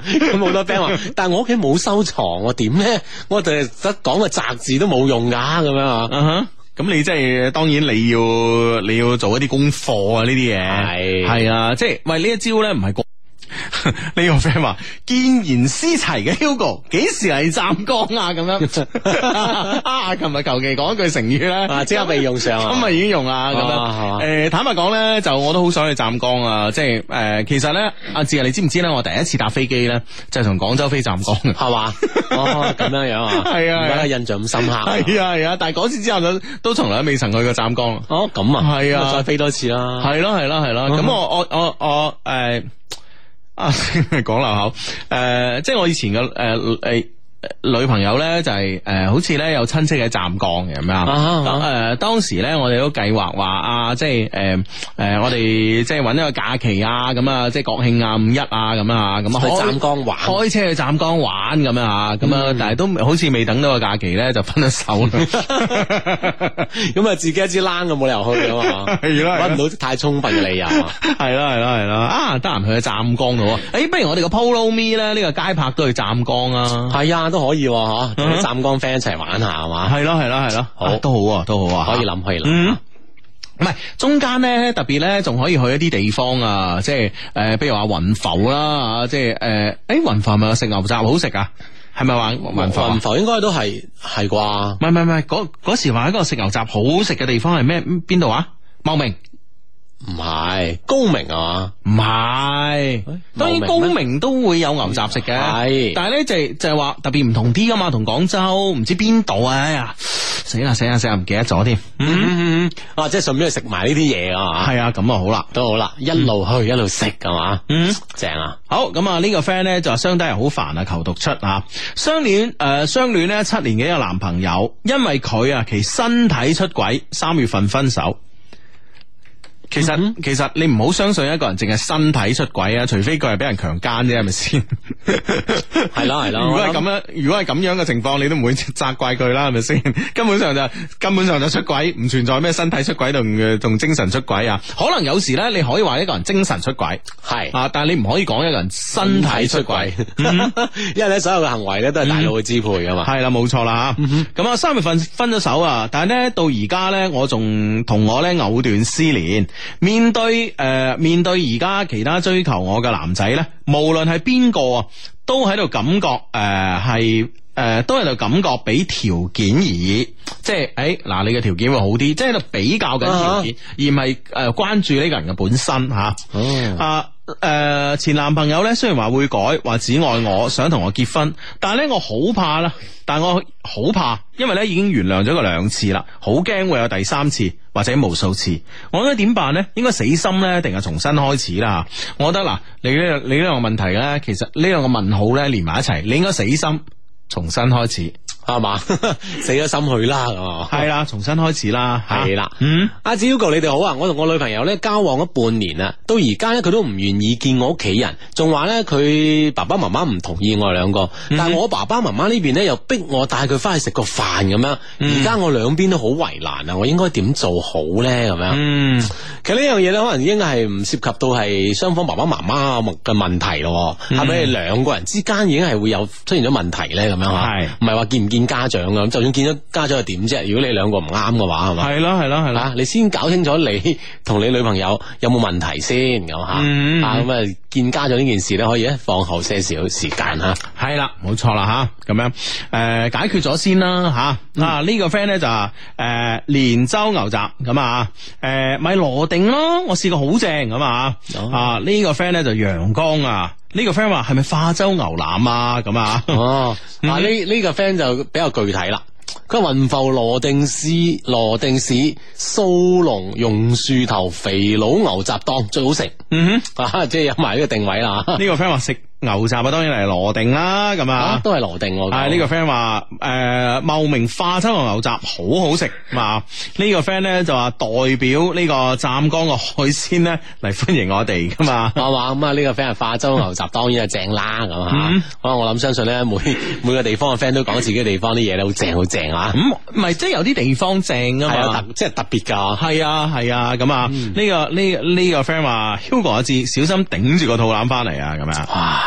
咁好多 friend 話，但係我屋企冇收藏，我點咧？我哋得講個宅字都冇用噶，咁樣啊。 嗯哼。咁你即係當然你要你要做一啲功課啊，呢啲嘢係係啊，即係喂呢一招咧唔係呢個 friend 話見賢思齊嘅 Hugo 幾時嚟湛江啊？咁樣啊，琴日求其講一句成語咧， 即刻被用上啊， 咁咪已經用啦。咁樣誒，坦白講咧，就我都好想去湛江啊！即係誒，其實咧，阿志啊，你知唔知咧？我第一次搭飛機咧，就係從廣州飛湛江，係嘛？ 哦，咁樣樣啊，係啊，而家印象咁深刻。 係啊係啊，但係嗰次之後就都從來都未曾去過湛江。 哦，咁啊， 係啊， 再飛多次啦。 係咯係咯係咯，咁我我我我誒。啊，講漏口，誒、呃，即係我以前嘅誒誒女朋友咧，就係、是、誒、呃，好似咧有親戚喺湛江嘅咁樣。誒、啊呃，當時咧我哋都計劃話啊，即係誒誒，我哋即係搵一個假期啊，咁啊，即係國慶啊、五一啊，咁啊，咁啊去湛江玩， 開車去湛江玩咁啊，咁啊，但係都好似未等到個假期咧，就分咗手啦。 咁啊，自己一支冷咁冇理由去啊嘛，搵唔到太充分嘅理由。 係啦係啦係啦，啊，得閒去湛江度啊！誒，不如我哋個 Polo Me 咧，呢個街拍都去湛江啊！ 係啊。都可以嗬，同啲湛江 friend 一齊玩下係嘛？ 係咯係咯係咯，好都好啊都好啊， 可以諗可以諗。 嗯，唔係中間咧特別咧，仲可以去一啲地方啊，即係誒，呃、比如話雲浮啦，即係誒，誒雲浮係咪食牛雜好食啊？係咪話雲浮？ 雲浮應該都係係啩？ 唔係唔係唔係，嗰嗰時話一個食牛雜好食嘅地方係咩？邊度啊？茂名。 唔係高明啊嘛， 唔係，當然高明都會有牛雜食嘅，係，但係咧就係就係話特別唔同啲噶嘛，同廣州唔知邊度啊，哎呀，死啦死啦死啦，唔記得咗添，嗯嗯嗯，啊，即係順便去食埋呢啲嘢啊， 係啊，咁啊好啦， 都好啦，一路去一路食係嘛，嗯，正啊， 好，咁啊呢個 friend 咧就話相低係好煩啊，求讀出啊，相戀誒相戀咧七年嘅一個男朋友，因為佢啊其身體出軌，三月份分手。其實、嗯、其實你唔好相信一個人淨係身體出軌啊，除非佢係俾人強姦啫，係咪先？ 係咯係咯。 如果係咁樣，如果係咁樣嘅情況，你都唔會責怪佢啦，係咪先？根本上就根本上就出軌，唔存在咩身體出軌同同精神出軌啊。可能有時咧，你可以話一個人精神出軌，係啊，但係你唔可以講一個人身體出軌，嗯、 因為咧所有嘅行為咧都係大腦去支配噶嘛。 係啦、嗯，冇錯啦吓。咁啊、嗯，三月份分咗手啊，但係咧到而家咧，我仲同我咧藕斷絲連。面對誒、呃，面對而家其他追求我嘅男仔咧，無論係邊個啊，都喺度感覺誒係誒，都喺度感覺俾條件而已，即係誒嗱，你嘅條件會好啲，即係喺度比較緊條件，啊、而唔係誒關注呢個人嘅本身吓。啊誒、啊呃，前男朋友咧雖然話會改，話只愛我，想同我結婚，但係咧我好怕啦，但係我好怕，因為咧已經原諒咗佢兩次啦，好驚會有第三次或者無數次，我應該點辦咧？應該死心咧，定係重新開始啦？我覺得嗱，你呢你呢兩個問題咧，其實呢兩個問號咧連埋一齊，你應該死心重新開始。 係嘛，死咗心去啦， 係啦，重新開始啦， 係啦，嗯，阿子 Hugo 你哋好啊，我同我女朋友咧交往咗半年啦，到而家咧佢都唔願意見我屋企人，仲話咧佢爸爸媽媽唔同意我哋兩個，嗯、但係我爸爸媽媽呢邊咧又逼我帶佢翻去食個飯咁樣，而家、嗯、我兩邊都好為難啊，我應該點做好咧咁樣？嗯，其實呢樣嘢咧可能已經係唔涉及到係雙方爸爸媽媽嘅問題咯，係咪、嗯、兩個人之間已經係會有出現咗問題咧咁樣吓？係，唔係話見唔見家長啊？咁就算見咗家長又點啫？如果你兩個唔啱嘅話，係嘛？係咯係咯係啦，你先搞清楚你同你女朋友有冇問題先，咁吓、嗯、啊咁啊見家長呢件事咧，可以咧放後些少時間吓。係啦，冇錯啦吓，咁樣誒、呃、解決咗先啦吓。啊、嗯、啊、這個、呢個 friend 咧就誒、呃、連州牛雜咁啊，誒咪羅定咯，我試過好正咁啊。哦、啊呢、這個 friend 咧就陽光啊。呢個 friend 話係咪化州牛腩啊？咁啊，哦，嗱呢呢個 friend 就比較具體啦。佢話雲浮羅定市羅定市掃龍榕樹頭肥佬牛雜檔最好食。嗯哼，啊即係有埋呢個定位啦。呢個 friend 話食牛雜啊，當然係羅定啦。咁啊，都係羅定。係呢個 friend 話誒茂名化州牛雜好好食。啊呢個 friend 咧就話代表呢個湛江嘅海鮮咧嚟歡迎我哋噶嘛。係嘛咁啊呢個 friend 係化州牛雜當然係正啦。咁啊，可能我諗相信咧每每個地方嘅 friend 都講自己嘅地方啲嘢咧好正好正啊。咁唔係即係有啲地方正啊嘛，即係特別噶。係啊係啊咁啊呢個呢呢個 friend 話 Hugo 阿志小心頂住個肚腩翻嚟啊咁樣。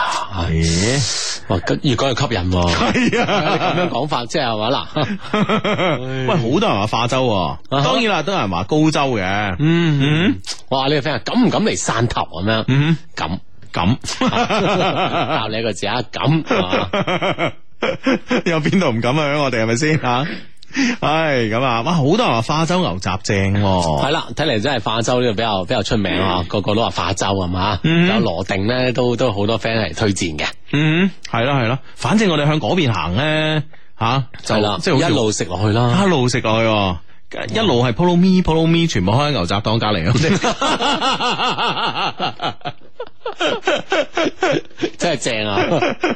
咦，哇，越講越吸引喎。 係啊， 咁樣講法即係話嗱， 喂，好多人話化州，啊、當然啦，都有人話高州嘅。 嗯嗯，哇，呢個 friend 敢唔敢嚟汕頭咁樣？嗯，敢敢， 教你一個字啊，敢。 有邊度唔敢啊？我哋係咪先吓？唉，咁啊，哇，好多人話化州牛雜正， 係啦，睇嚟真係化州呢個比較比較出名啊，個個都話化州係嘛，有羅定咧，都都好多 friend 嚟推薦嘅。 嗯，係啦係啦，反正我哋向嗰邊行咧，吓就啦，即係一路食落去啦， 一路食落去，一路係 Polo Me Polo Me， 全部開喺牛雜檔隔籬咁。 真係正啊！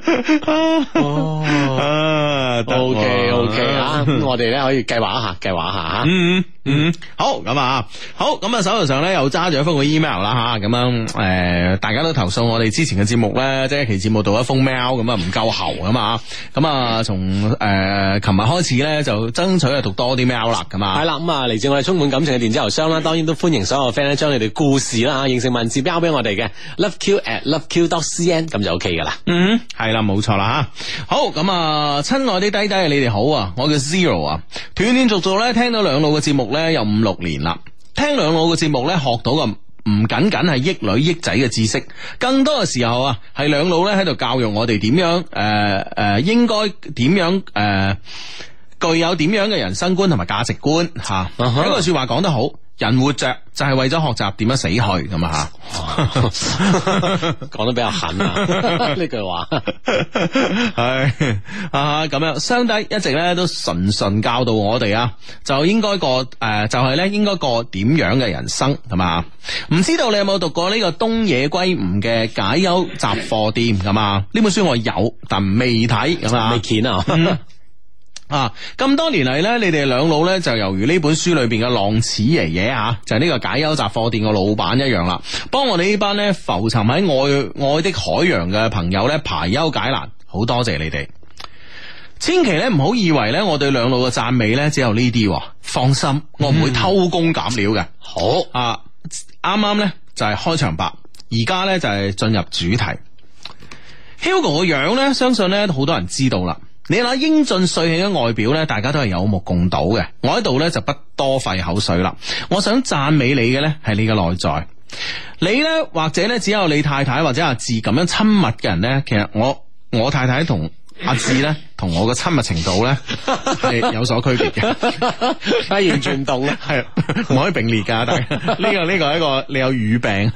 哦，OK OK 啊，咁我哋咧可以計劃一下，計劃一下吓。 嗯嗯，好咁啊，好咁啊，手頭上咧又揸住一封個 email 啦吓，咁樣誒，大家都投訴我哋之前嘅節目咧，即係一期節目到一封 mail 咁啊，唔夠喉啊嘛，咁啊，從誒琴日開始咧就爭取啊讀多啲 mail 啦，咁啊， 係啦，咁啊嚟自我哋充滿感情嘅電子郵箱啦，當然都歡迎所有 friend 咧將你哋故事啦，形成文字標俾我哋嘅 loveq at loveq dot cn 咁就 OK 噶啦。 嗯，係啦，冇錯啦吓。好咁啊，親愛啲低低，你哋好啊，我叫 Zero 啊，斷斷續續咧聽到兩老嘅節目咧有五六年啦，聽兩老嘅節目咧學到嘅唔僅僅係益女益仔嘅知識，更多嘅時候啊係兩老咧喺度教育我哋點樣誒誒、呃呃、應該點樣誒、呃、具有點樣嘅人生觀同埋價值觀吓。有、uh huh. 一句說話講得好，人活着就係為咗學習點樣死去咁啊吓， 講得比較狠啊呢句話。 係啊咁樣，雙低一直咧都純純教導我哋啊，就應該過誒、呃，就係、是、咧應該過點樣嘅人生係嘛？唔知道你有冇讀過呢個東野圭吾嘅解憂雜貨店咁啊？呢本書我有，但未睇咁啊， 未見啊。 啊！咁多年嚟咧，你哋兩老咧就猶如呢本書裏邊嘅浪矢爺爺啊，就係、是、呢個解憂雜貨店嘅老闆一樣啦，幫我哋呢班咧浮沉喺愛愛的海洋嘅朋友咧排憂解難，好多謝你哋。千祈咧唔好以為咧我對兩老嘅讚美咧只有呢啲，放心，我唔會偷工減料嘅。 好啊，啱啱咧就係、是、開場白，而家咧就係、是、進入主題。Hugo 個樣咧，相信咧好多人知道啦。你睇英俊帥氣嘅外表咧，大家都係有目共睹嘅。我喺度咧就不多費口水啦。我想讚美你嘅咧係你嘅內在。你咧或者咧只有你太太或者阿志咁樣親密嘅人咧，其實我我太太同阿志咧同我嘅親密程度咧係有所區別嘅， 係完全唔同嘅， 係唔可以並列噶。但係呢個呢個係一個你有語病。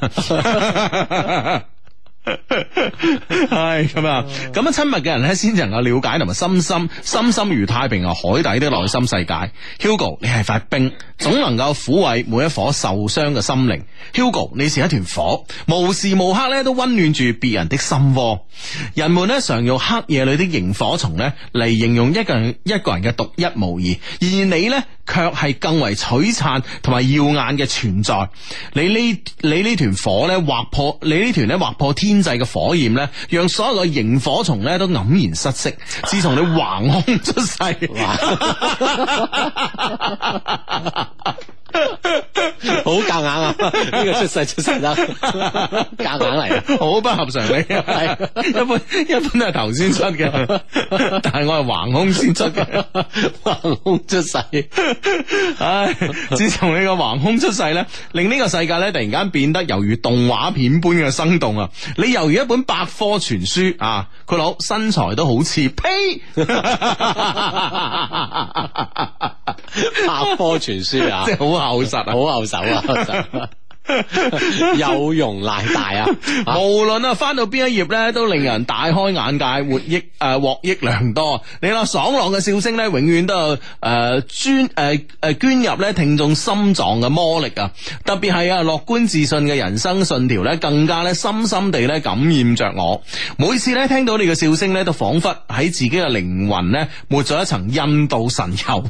係咁啊！咁樣親密嘅人咧，先至能夠了解同埋深深深深如太平洋海底的內心世界。Hugo， 你係塊冰，總能夠撫慰每一顆受傷嘅心靈。Hugo， 你是一團火，無時無刻咧都溫暖住別人的心窩。人們咧常用黑夜裏的螢火蟲咧嚟形容一個人一個人嘅獨一無二，而你咧卻係更為璀璨同埋耀眼嘅存在。你呢你呢團火咧劃破你呢團咧劃破天天際嘅火焰咧，讓所有嘅螢火蟲咧都黯然失色。自從你橫空出世， 好夾硬啊！呢個出世出世得夾硬嚟， 好不合常理。係一般一般都係頭先出嘅，但係我係橫空先出嘅， 橫空出世。 唉，自從你個橫空出世咧，令呢個世界咧突然間變得猶如動畫片般嘅生動啊！你猶如一本百科全書啊！佢佬身材都好似呸， 百科全書啊， 即係好厚實啊， 好厚手啊，厚實有容乃大啊！ 無論啊翻到邊一頁咧，都令人大開眼界，獲益誒獲益良多。你話爽朗嘅笑聲咧，永遠都有誒專誒誒捐入咧聽眾心臟嘅魔力啊！特別係啊樂觀自信嘅人生信條咧，更加咧深深地咧感染着我。每次咧聽到你嘅笑聲咧，都仿佛喺自己嘅靈魂咧抹咗一層印度神油。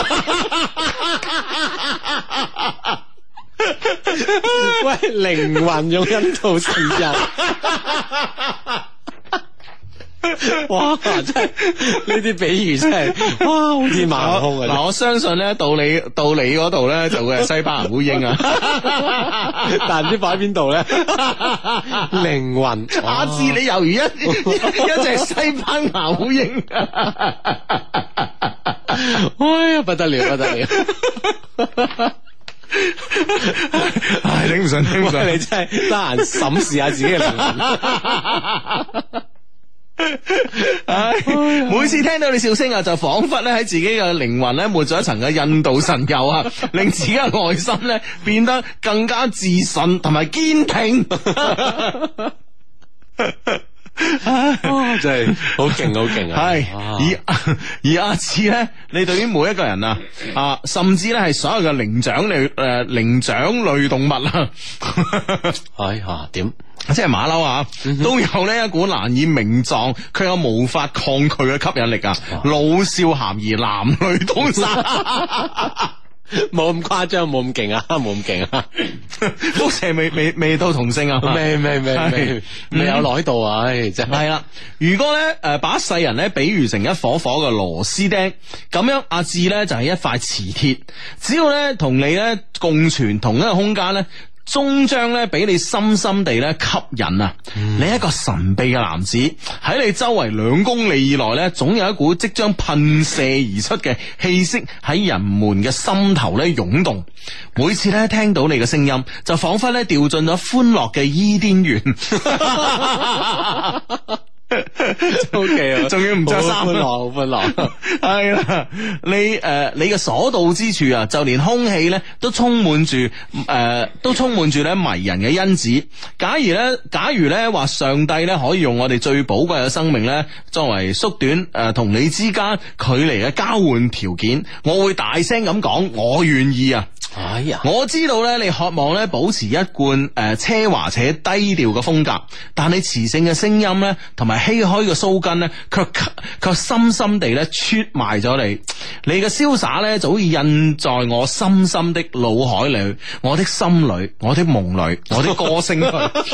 喂，靈魂用印度神油， 哇！真係呢啲比喻真係哇，好天馬行空啊！ 嗱，我相信咧到你到你嗰度咧就會係西班牙烏蠅啊， 但唔知擺喺邊度咧？靈魂， 阿志你猶如一一隻西班牙烏蠅， 哎呀不得了不得了！ 唉，頂唔順頂唔順， 你真係得閒審視下自己嘅靈魂。 唉，每次聽到你笑聲啊，就仿佛咧喺自己嘅靈魂咧抹咗一層嘅印度神油啊，令自己嘅內心咧變得更加自信同埋堅挺。 哦、真係好勁好勁啊！ 係而而阿志咧，你對於每一個人啊啊，甚至咧係所有嘅靈長類誒靈長類動物啊， 哎呀點？ 即係馬騮啊，都有呢一股難以名狀，卻又無法抗拒嘅吸引力啊！老少咸宜，男女通殺。 冇咁誇張，冇咁勁啊，冇咁勁啊！ 輻射未未未到同性啊， 未未未未未有來到啊！唉，真係啦。如果咧誒把世人咧比喻成一顆顆嘅螺絲釘，咁樣阿志咧就係一塊磁鐵，只要咧同你咧共存同一個空間咧，終將咧俾你深深地咧吸引啊！嗯、你一個神秘嘅男子喺你周圍兩公里以內咧，總有一股即將噴射而出嘅氣息喺人們嘅心頭咧湧動。每次咧聽到你嘅聲音，就仿佛咧掉進咗歡樂嘅伊甸園。 O K 啊， 仲要唔着衫， 好歡樂，好歡樂。 係啦，你誒、呃，你嘅所到之處啊，就連空氣咧都充滿住誒，都充滿住咧迷人嘅因子。假如咧，假如咧話上帝咧可以用我哋最寶貴嘅生命咧，作為縮短誒同、呃、你之間距離嘅交換條件，我會大聲咁講，我願意啊！ 哎呀， 我知道咧，你渴望咧保持一貫誒、呃、奢華且低調嘅風格，但你磁性嘅聲音咧，同埋唏噓嘅鬚根咧，卻卻深深地咧出賣咗你。你嘅瀟灑咧，早已印在我深深的腦海裏，我的心裏，我的夢裏，我的歌聲裏。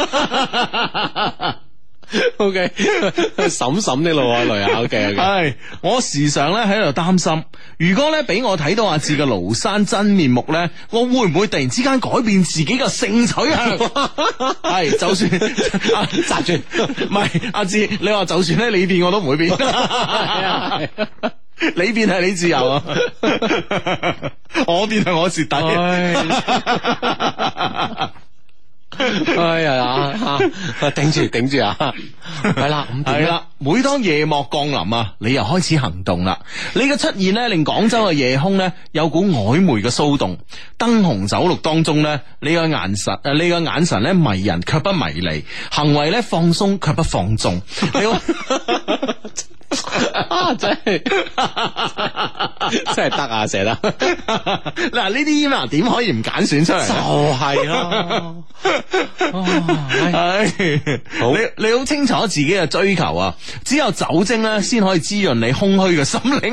O K， 嬸嬸的腦海裏啊 ，O K， 係我時常咧喺度擔心，如果咧俾我睇到阿志嘅廬山真面目咧，我會唔會突然之間改變自己嘅性取向？係就算阿扎住，唔係阿志，你話就算咧你變我都唔會變，你變係你自由啊，我變係我蝕底。 哎呀啊！頂住頂住啊！係啦，咁係啦。每當夜幕降臨啊，你又開始行動啦。你嘅出現咧，令廣州嘅夜空咧有股曖昧嘅騷動。燈紅酒綠當中咧，你嘅眼神誒，你嘅眼神咧迷人卻不迷離，行為咧放鬆卻不放縱。 啊！真係真係得啊，寫得嗱呢啲啊，點可以唔揀選出嚟？ 就係咯， 係好你你好清楚自己嘅追求啊！只有酒精咧，先可以滋潤你空虛嘅心靈。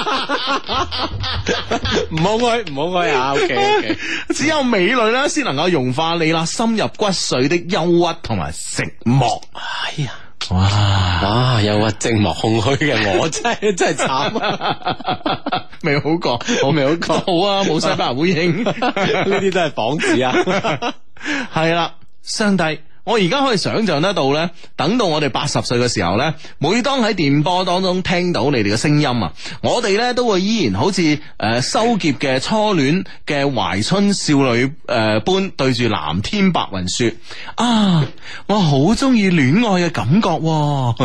唔好開，唔好開啊 ！OK OK， 只有美女咧，先能夠融化你啦深入骨髓的憂鬱同埋寂寞。 哎呀！ 哇哇！憂鬱寂寞空虛嘅我真係真係慘啊！ 未好過，我未好過，好啊！冇西班牙烏蠅， 呢啲都係幌子啊！ 係啦，上帝。我而家可以想象得到咧，等到我哋八十歲嘅時候咧，每當喺電波當中聽到你哋嘅聲音啊，我哋咧都會依然好似誒、呃、收劫嘅初戀嘅懷春少女誒、呃、般對住藍天白雲說啊，我好中意戀愛嘅感覺、啊。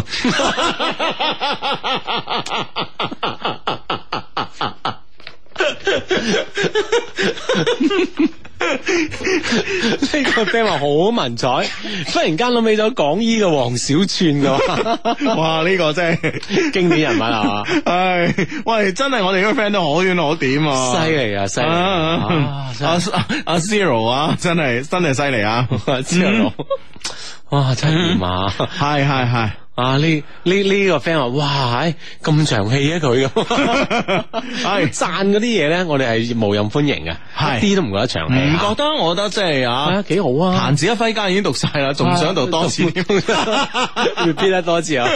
呢個 friend 話好文采，忽然間諗起咗港醫嘅黃小串噶， 哇！呢、這個真係經典人物啊！ 唉，喂，真係我哋呢個 friend 都可圈可點啊！ 犀利啊，犀利！ 阿阿 Zero 啊，真係真係犀利啊 ！Zero， 哇，真係點啊！ 係係係。 啊！呢呢呢個 friend 話，哇，咁長氣啊佢咁，係讚嗰啲嘢咧，我哋係無任歡迎嘅，係一啲都唔覺得長氣，唔覺得，我覺得即係啊， 幾好啊！ 彈指一揮間已經讀晒啦，仲想讀多次， 要編得多次啊！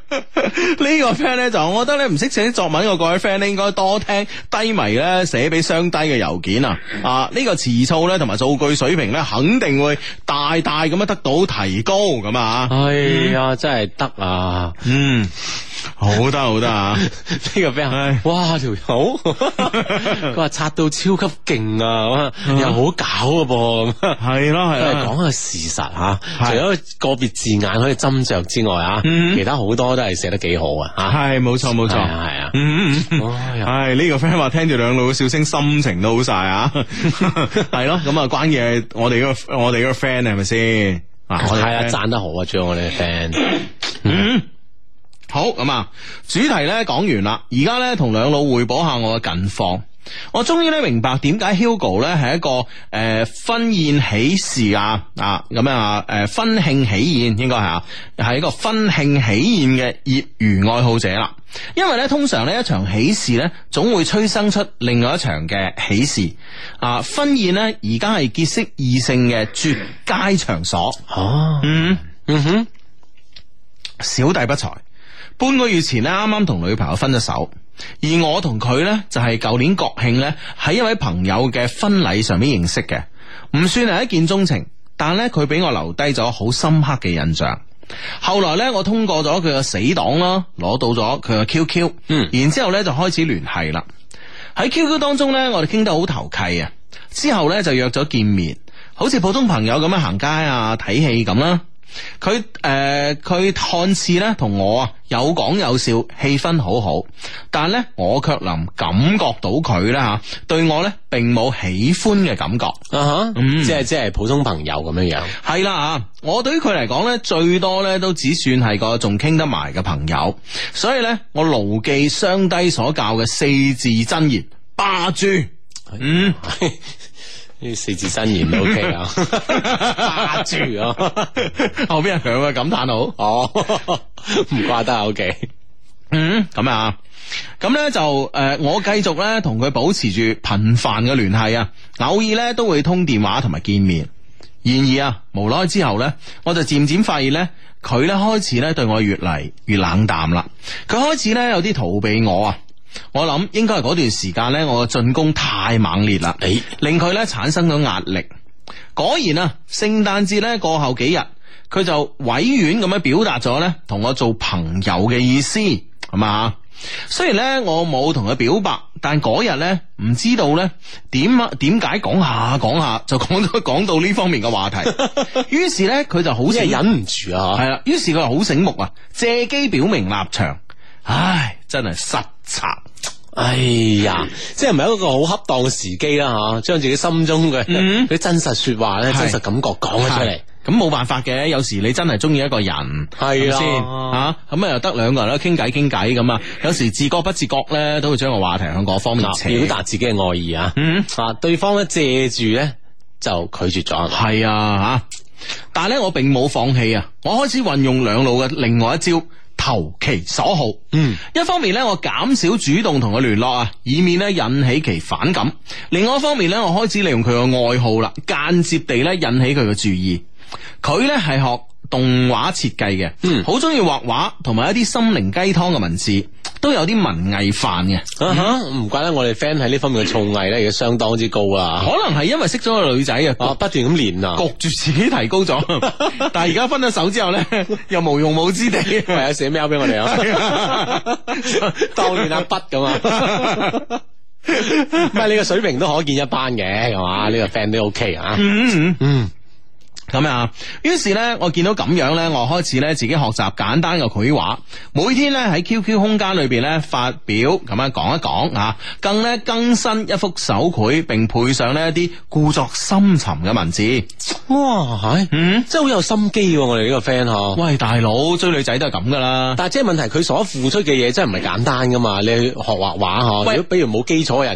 呢個 friend 咧就我覺得咧唔識寫作文嘅各位 friend 咧應該多聽低迷咧寫俾雙低嘅郵件啊！啊呢、這個詞數咧同埋造句水平咧肯定會大大咁樣得到提高咁啊！ 係啊、嗯，真係得啊！ 嗯，好得好得啊！ 呢個 friend 哇條友佢話刷到超級勁啊，又好搞嘅噃， 係咯係咯， 講個事實吓，除咗個別字眼可以斟酌之外啊，其他好多都係寫得幾好啊！係冇錯冇錯， 係啊， 嗯嗯，係呢個 friend 話聽住兩老嘅笑聲，心情都好晒啊！係咯，咁啊關鍵係我哋嗰個我哋嗰個 friend 係咪先？啊， 係啊，讚得好啊，將我哋嘅 friend。 嗯，好咁啊，主題咧講完啦，而家咧同兩老匯報下我嘅近況。我終於咧明白點解 Hugo 咧係一個誒、呃、婚宴喜事啊啊咁樣啊誒婚慶喜宴應該係啊係一個婚慶喜宴嘅業餘愛好者啦。因為咧通常呢一場喜事咧總會催生出另外一場嘅喜事啊。婚宴咧而家係結識異性嘅絕佳場所。 哦， 嗯嗯哼，小弟不才，半個月前咧啱啱同女朋友分咗手。而我同佢呢，就係舊年國慶呢，喺一位朋友嘅婚禮上面認識嘅，唔算係一見鍾情，但呢，佢俾我留低咗好深刻嘅印象。後來呢，我通過咗佢嘅死黨啦，攞到咗佢嘅 Q Q， 嗯，然之後呢就開始聯繫啦。喺 Q Q 當中呢，我哋傾得好投契啊，之後呢，就約咗見面，好似普通朋友咁樣行街啊、睇戲咁啦。佢誒，佢、呃、看似咧同我啊有講有笑，氣氛好好，但咧我卻能感覺到佢咧吓對我咧並冇喜歡嘅感覺啊哈， 嗯、即係即係普通朋友咁樣樣。 係啦啊，我對於佢嚟講咧最多咧都只算係個仲傾得埋嘅朋友，所以咧我牢記雙低所教嘅四字真言：霸住。嗯。 呢四字真言都 OK 啊，霸住啊， 後邊係響嘅感嘆號， 哦，唔怪得 OK， 嗯，咁啊，咁咧就誒、呃，我繼續咧同佢保持住頻繁嘅聯繫啊，偶爾咧都會通電話同埋見面。然而啊，無奈之後咧，我就漸漸發現咧，佢咧開始咧對我越嚟越冷淡啦，佢開始咧有啲逃避我啊。我諗應該係嗰段時間呢，我嘅進攻太猛烈啦，誒，令佢呢產生咗壓力。果然啊，聖誕節呢過後幾日，佢就委婉咁樣表達咗呢同我做朋友嘅意思，係嘛？雖然呢我冇同佢表白，但嗰日呢唔知道呢點啊點解講下講下就講到講到呢方面嘅話題，於是呢佢就好似忍唔住啊， 係啦，於是佢就好醒目啊，借機表明立場。唉，真係失策。 哎呀，即係唔係一個好恰當嘅時機啦吓，將自己心中嘅啲、嗯、真實說話咧、真實感覺講咗出嚟。 咁冇辦法嘅，有時你真係中意一個人，係咪先吓？咁啊又得兩個人咧傾偈傾偈咁啊，有時自覺不自覺咧都會將個話題向嗰方面扯， 表達自己嘅愛意啊。嗯啊，對方咧借住咧就拒絕咗。 係啊吓，但係咧我並冇放棄啊，我開始運用兩路嘅另外一招。投其所好，嗯，一方面咧，我減少主動同佢聯絡啊，以免咧引起其反感；另外一方面咧，我開始利用佢嘅愛好啦，間接地咧引起佢嘅注意。佢咧係學動畫設計嘅，嗯，好中意畫畫同埋一啲心靈雞湯嘅文字，都有啲文藝範嘅。 啊哈，唔怪得我哋 friend 喺呢方面嘅造詣咧，而家相當之高啊。 可能係因為識咗個女仔啊， 不斷咁練啊， 焗住自己提高咗。但係而家分咗手之後咧，又無用武之地， 唯有寫 mail 俾我哋啊，當年阿筆咁啊。唔係你個水平都可見一斑嘅，係嘛？呢個 friend 都 OK 啊。 嗯嗯嗯。咁啊，於是咧，我見到咁樣咧，我開始咧自己學習簡單嘅繪畫，每天咧喺 Q Q 空間裏邊咧發表咁樣講一講啊，更咧更新一幅手繪，並配上呢一啲故作深沉嘅文字。 哇，係，嗯，真係好有心機喎，我哋呢個 friend 嗬。 喂，大佬追女仔都係咁噶啦， 但係即係問題，佢所付出嘅嘢真係唔係簡單噶嘛。你去學畫畫嗬，如果比如冇基礎嘅人，你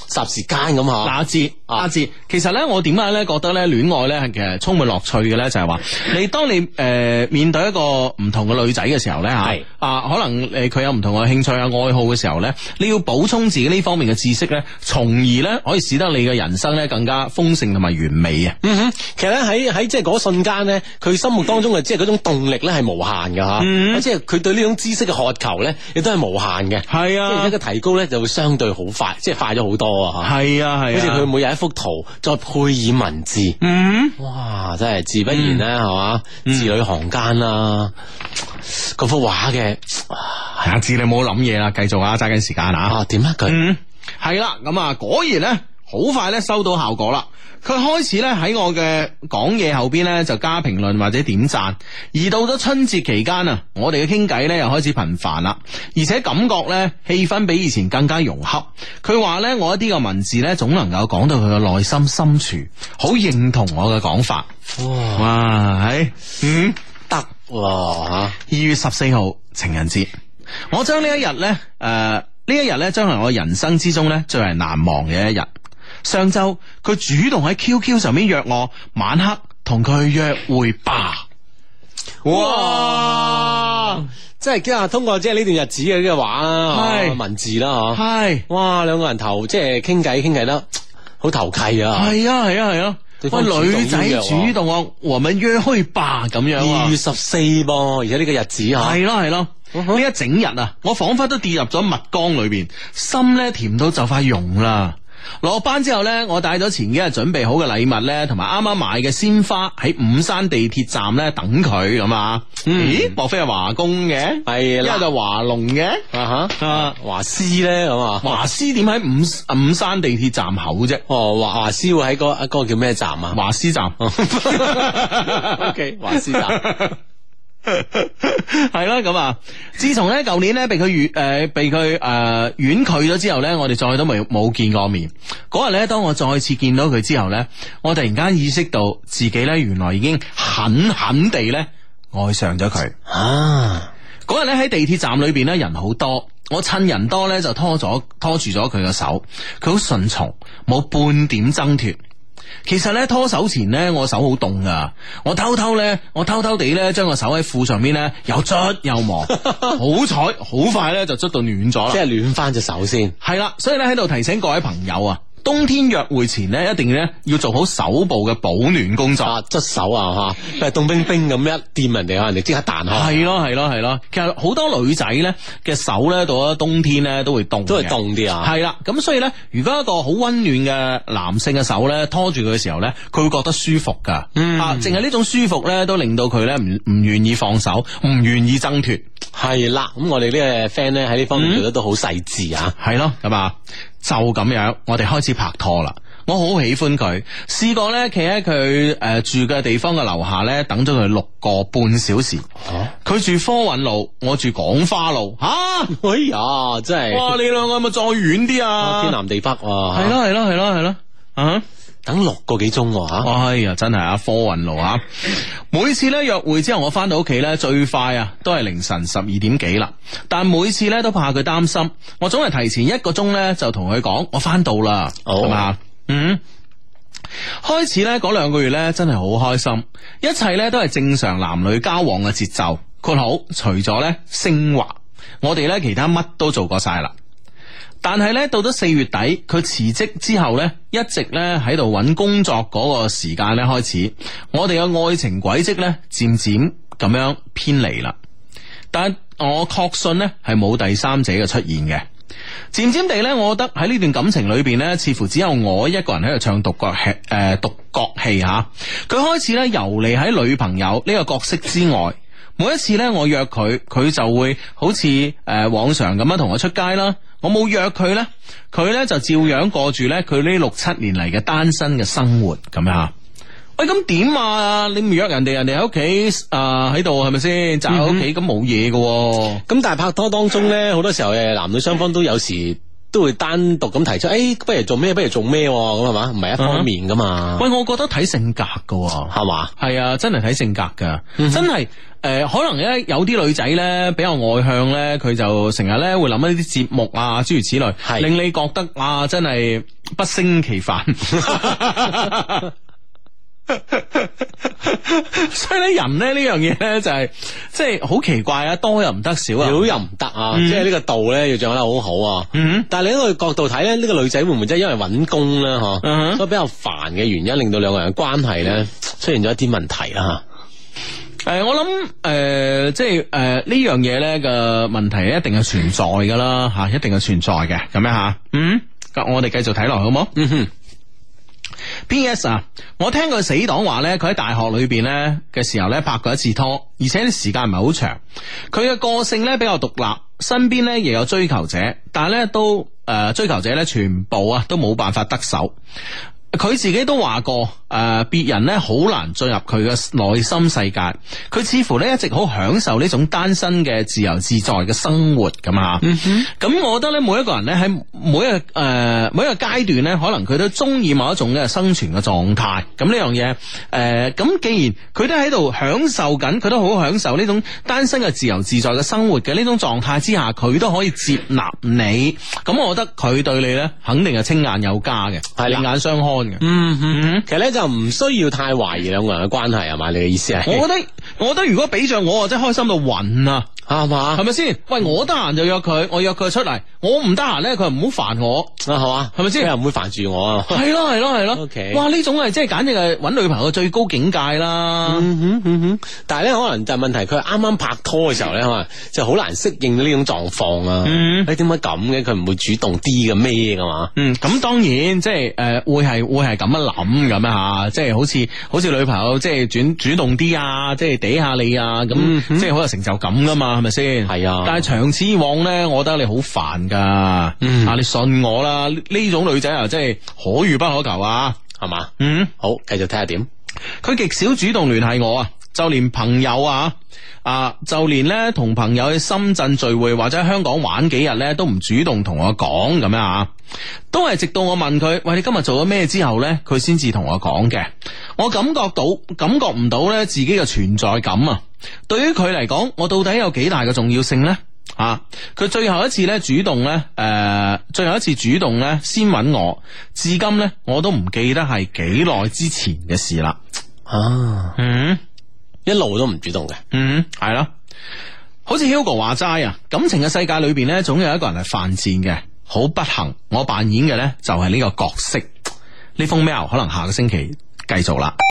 霎時間咁吓。 阿志阿志，其實咧我點解咧覺得咧戀愛咧係其實充滿樂趣嘅咧，就係話你當你誒、呃、面對一個唔同嘅女仔嘅時候咧吓，係啊可能誒佢有唔同嘅興趣啊愛好嘅時候咧，你要補充自己呢方面嘅知識咧，從而咧可以使得你嘅人生咧更加豐盛同埋完美啊。 嗯哼，其實咧喺喺即係嗰瞬間咧，佢心目當中嘅即係嗰種動力咧係無限嘅吓，嗯、即係佢對呢種知識嘅渴求咧，亦都係無限嘅。係啊，即係而家嘅提高咧就會相對好快，即係快咗好多啊吓。係啊係，好似佢每日一幅圖再配以文字，嗯，哇，真係自不然咧係嘛，字裏行間啦，嗰幅畫嘅， 阿志你冇諗嘢啦，繼續啊，揸緊時間啊。 啊，點啊佢？嗯， 係啦，咁啊，果然咧好快咧收到效果啦。佢開始咧喺我嘅講嘢後邊咧就加評論或者點讚，而到咗春節期間啊，我哋嘅傾偈咧又開始頻繁啦，而且感覺咧氣氛比以前更加融洽。佢話咧我一啲嘅文字咧總能夠講到佢嘅內心深處，好認同我嘅講法。哇，哇，係，嗯，得吓。二月十四號情人節，我將呢一日咧，誒、呃，呢一日咧將係我人生之中咧最為難忘嘅一日。上周佢主動喺 Q Q 上面約我晚黑同佢約會吧。 哇！即係今日通過即係呢段日子嘅呢個話啦，係文字啦，嗬。係。哇！兩個人頭即係傾偈傾偈得好投契啊。係啊係啊係啊。喂，女仔主動啊，我們約會吧咁樣。 二月十四噃，而且呢個日子吓。 係咯係咯。呢一整日啊，我仿佛都跌入咗蜜缸裏邊，心咧甜到就快溶啦。落班之後呢，我帶咗前幾日準備好嘅禮物呢，同埋啱啱買嘅鮮花喺五山地鐵站呢等佢咁啊！咦，莫非係華工嘅？係啦，一係就華龍嘅啊吓啊華師咧咁啊？華師點喺五五山地鐵站口啫？哦，華華師會喺嗰嗰個叫咩站啊？華師站。O K， 華師站。係啦，咁啊！自從咧舊年咧被佢遠誒被佢誒婉拒咗之後咧，我哋再都冇冇見過面。嗰日咧，當我再次見到佢之後咧，我突然間意識到自己咧原來已經狠狠地咧愛上咗佢啊！嗰日咧喺地鐵站裏邊咧人好多，我趁人多咧就拖咗拖住咗佢嘅手，佢好順從，冇半點掙脫。其實咧拖手前咧，我手好凍噶，我偷偷咧，我偷偷地咧將個手喺褲上邊咧又捽又磨，好彩好快咧就捽到暖咗啦，即係暖翻隻手先。係啦，所以咧喺度提醒各位朋友啊，冬天約會前咧一定咧要做好手部嘅保暖工作，捽手啊吓，凍冰冰咁一掂人哋，人哋即刻彈開。係咯係咯係咯，其實好多女仔咧嘅手咧到咗冬天咧都會凍，都會凍啲啊。係啦，咁所以咧，如果一個好溫暖嘅男性嘅手咧拖住佢嘅時候咧，佢會覺得舒服噶。嗯、啊，淨係呢種舒服咧都令到佢咧唔唔願意放手，唔願意掙脫。係啦，咁我哋呢個 friend 咧喺呢方面做得都好細緻啊。係咯，咁啊。就咁樣，我哋開始拍拖啦。我好喜歡佢，試過咧，企喺佢誒住嘅地方嘅樓下咧，等咗佢六個半小時。佢、啊、住科韻路，我住廣花路。吓、啊，哎呀，真係哇！你兩個係咪再遠啲啊？天南地北啊！係咯係咯係咯係咯啊！等六個幾鐘吓，哎呀，真係啊，科韻路啊！每次咧約會之後，我翻到屋企咧，最快啊都係凌晨十二點幾啦。但每次咧都怕佢擔心，我總係提前一個鐘咧就同佢講我翻到啦，係嘛、哦？嗯，開始咧嗰兩個月咧真係好開心，一切咧都係正常男女交往嘅節奏。括好，除咗咧升華，我哋咧其他乜都做過晒啦。但係咧，到咗四月底，佢辭職之後咧，一直咧喺度揾工作嗰個時間咧開始，我哋嘅愛情軌跡咧漸漸咁樣偏離啦。但我確信咧係冇第三者嘅出現嘅。漸漸地咧，我覺得喺呢段感情裏邊咧，似乎只有我一個人喺度唱獨角戲，誒、呃，獨角戲吓。佢開始咧游離喺女朋友呢個角色之外。每一次咧，我約佢，佢就會好似誒、呃、往常咁樣同我出街啦。我冇約佢咧，佢咧就照樣過住咧佢呢六七年嚟嘅單身嘅生活咁樣。喂，咁點啊？你唔約人哋，人哋喺屋企啊喺度係咪先？宅喺屋企咁冇嘢嘅。咁、嗯、但係拍拖當中咧，好多時候誒男女雙方都有時都會單獨咁提出，誒、欸，不如做咩？不如做咩？咁係嘛？唔係一方面噶嘛？ 喂，我覺得睇性格噶， 係嘛？ 係啊，真係睇性格噶，嗯、真係誒、呃，可能咧有啲女仔咧比較外向咧，佢就成日咧會諗一啲節目啊，諸如此類，係令你覺得啊，真係不勝其煩。所以咧，人咧呢樣嘢咧就係即係好奇怪啊，多又唔得，少啊， 少又唔得啊，嗯、即係呢個度咧要掌握得好好啊。嗯、但係另一個角度睇咧，呢、這個女仔會唔會真係因為揾工咧，嗬、嗯，所以比較煩嘅原因，令到兩個人嘅關係咧出現咗一啲問題啦。 誒、呃，我諗誒、呃，即係誒、呃、呢樣嘢咧嘅問題一定係存在噶啦，吓、啊，一定係存在嘅，咁樣吓。嗯，咁我哋繼續睇落好冇？嗯哼。P S 啊，我聽佢死黨話咧，佢喺大學裏邊咧嘅時候咧拍過一次拖，而且啲時間唔係好長。佢嘅個性咧比較獨立，身邊咧亦有追求者，但係咧都誒、呃、追求者咧全部啊都冇辦法得手。佢自己都話過，誒、呃，別人咧好難進入佢嘅內心世界。佢似乎咧一直好享受呢種單身嘅自由自在嘅生活咁啊。咁、嗯、哼我覺得咧，每一個人咧喺每一個誒、呃、每一個階段咧，可能佢都中意某一種嘅生存嘅狀態。咁呢樣嘢，誒、呃，咁既然佢都喺度享受緊，佢都好享受呢種單身嘅自由自在嘅生活嘅呢種狀態之下，佢都可以接納你。咁我覺得佢對你咧，肯定係青眼有加嘅，係另眼相看。 嗯嗯，其實咧就唔需要太懷疑兩個人嘅關係係嘛？你嘅意思係？ 我覺得，我覺得如果俾着我，我真係開心到暈啊，係嘛？係咪先？喂，我得閒就約佢，我約佢出嚟，我唔得閒咧，佢唔好煩我啊，係嘛？係咪先？ 佢又唔會煩住我啊？ 係咯係咯係咯。 OK， 哇！呢種係即係簡直係搵女朋友嘅最高境界啦。 嗯哼嗯哼，但係咧可能就係問題，佢啱啱拍拖嘅時候咧，可能就好難適應呢種狀況啊。嗯，你點解咁嘅？佢唔會主動啲嘅咩噶嘛？ 嗯，咁當然即係誒會係會係咁樣諗咁啊，即係好似好似女朋友即係主主動啲啊，即係嗲下你啊，咁、嗯、哼即係好有成就感噶嘛，係咪先？係啊。但係長此以往咧，我覺得你好煩噶。嗯，啊，你信我啦，呢種女仔啊，真係可遇不可求啊，係嘛？嗯， 好，繼續睇下點。 佢極少主動聯繫我啊，就連朋友啊。啊！就連咧同朋友去深圳聚會或者喺香港玩幾日咧，都唔主動同我講咁樣啊，都係直到我問佢，喂，你今日做咗咩之後咧，佢先至同我講嘅。我感覺到感覺唔到咧自己嘅存在感啊！對於佢嚟講，我到底有幾大嘅重要性咧？啊！佢最後一次咧主動咧，誒、呃，最後一次主動咧先揾我，至今咧我都唔記得係幾耐之前嘅事啦。 啊，嗯。一路都唔主動嘅， 嗯，係咯，好似 Hugo 話齋啊，感情嘅世界裏邊咧，總有一個人係犯賤嘅，好不幸，我扮演嘅咧就係呢個角色。呢封 mail 可能下個星期繼續啦。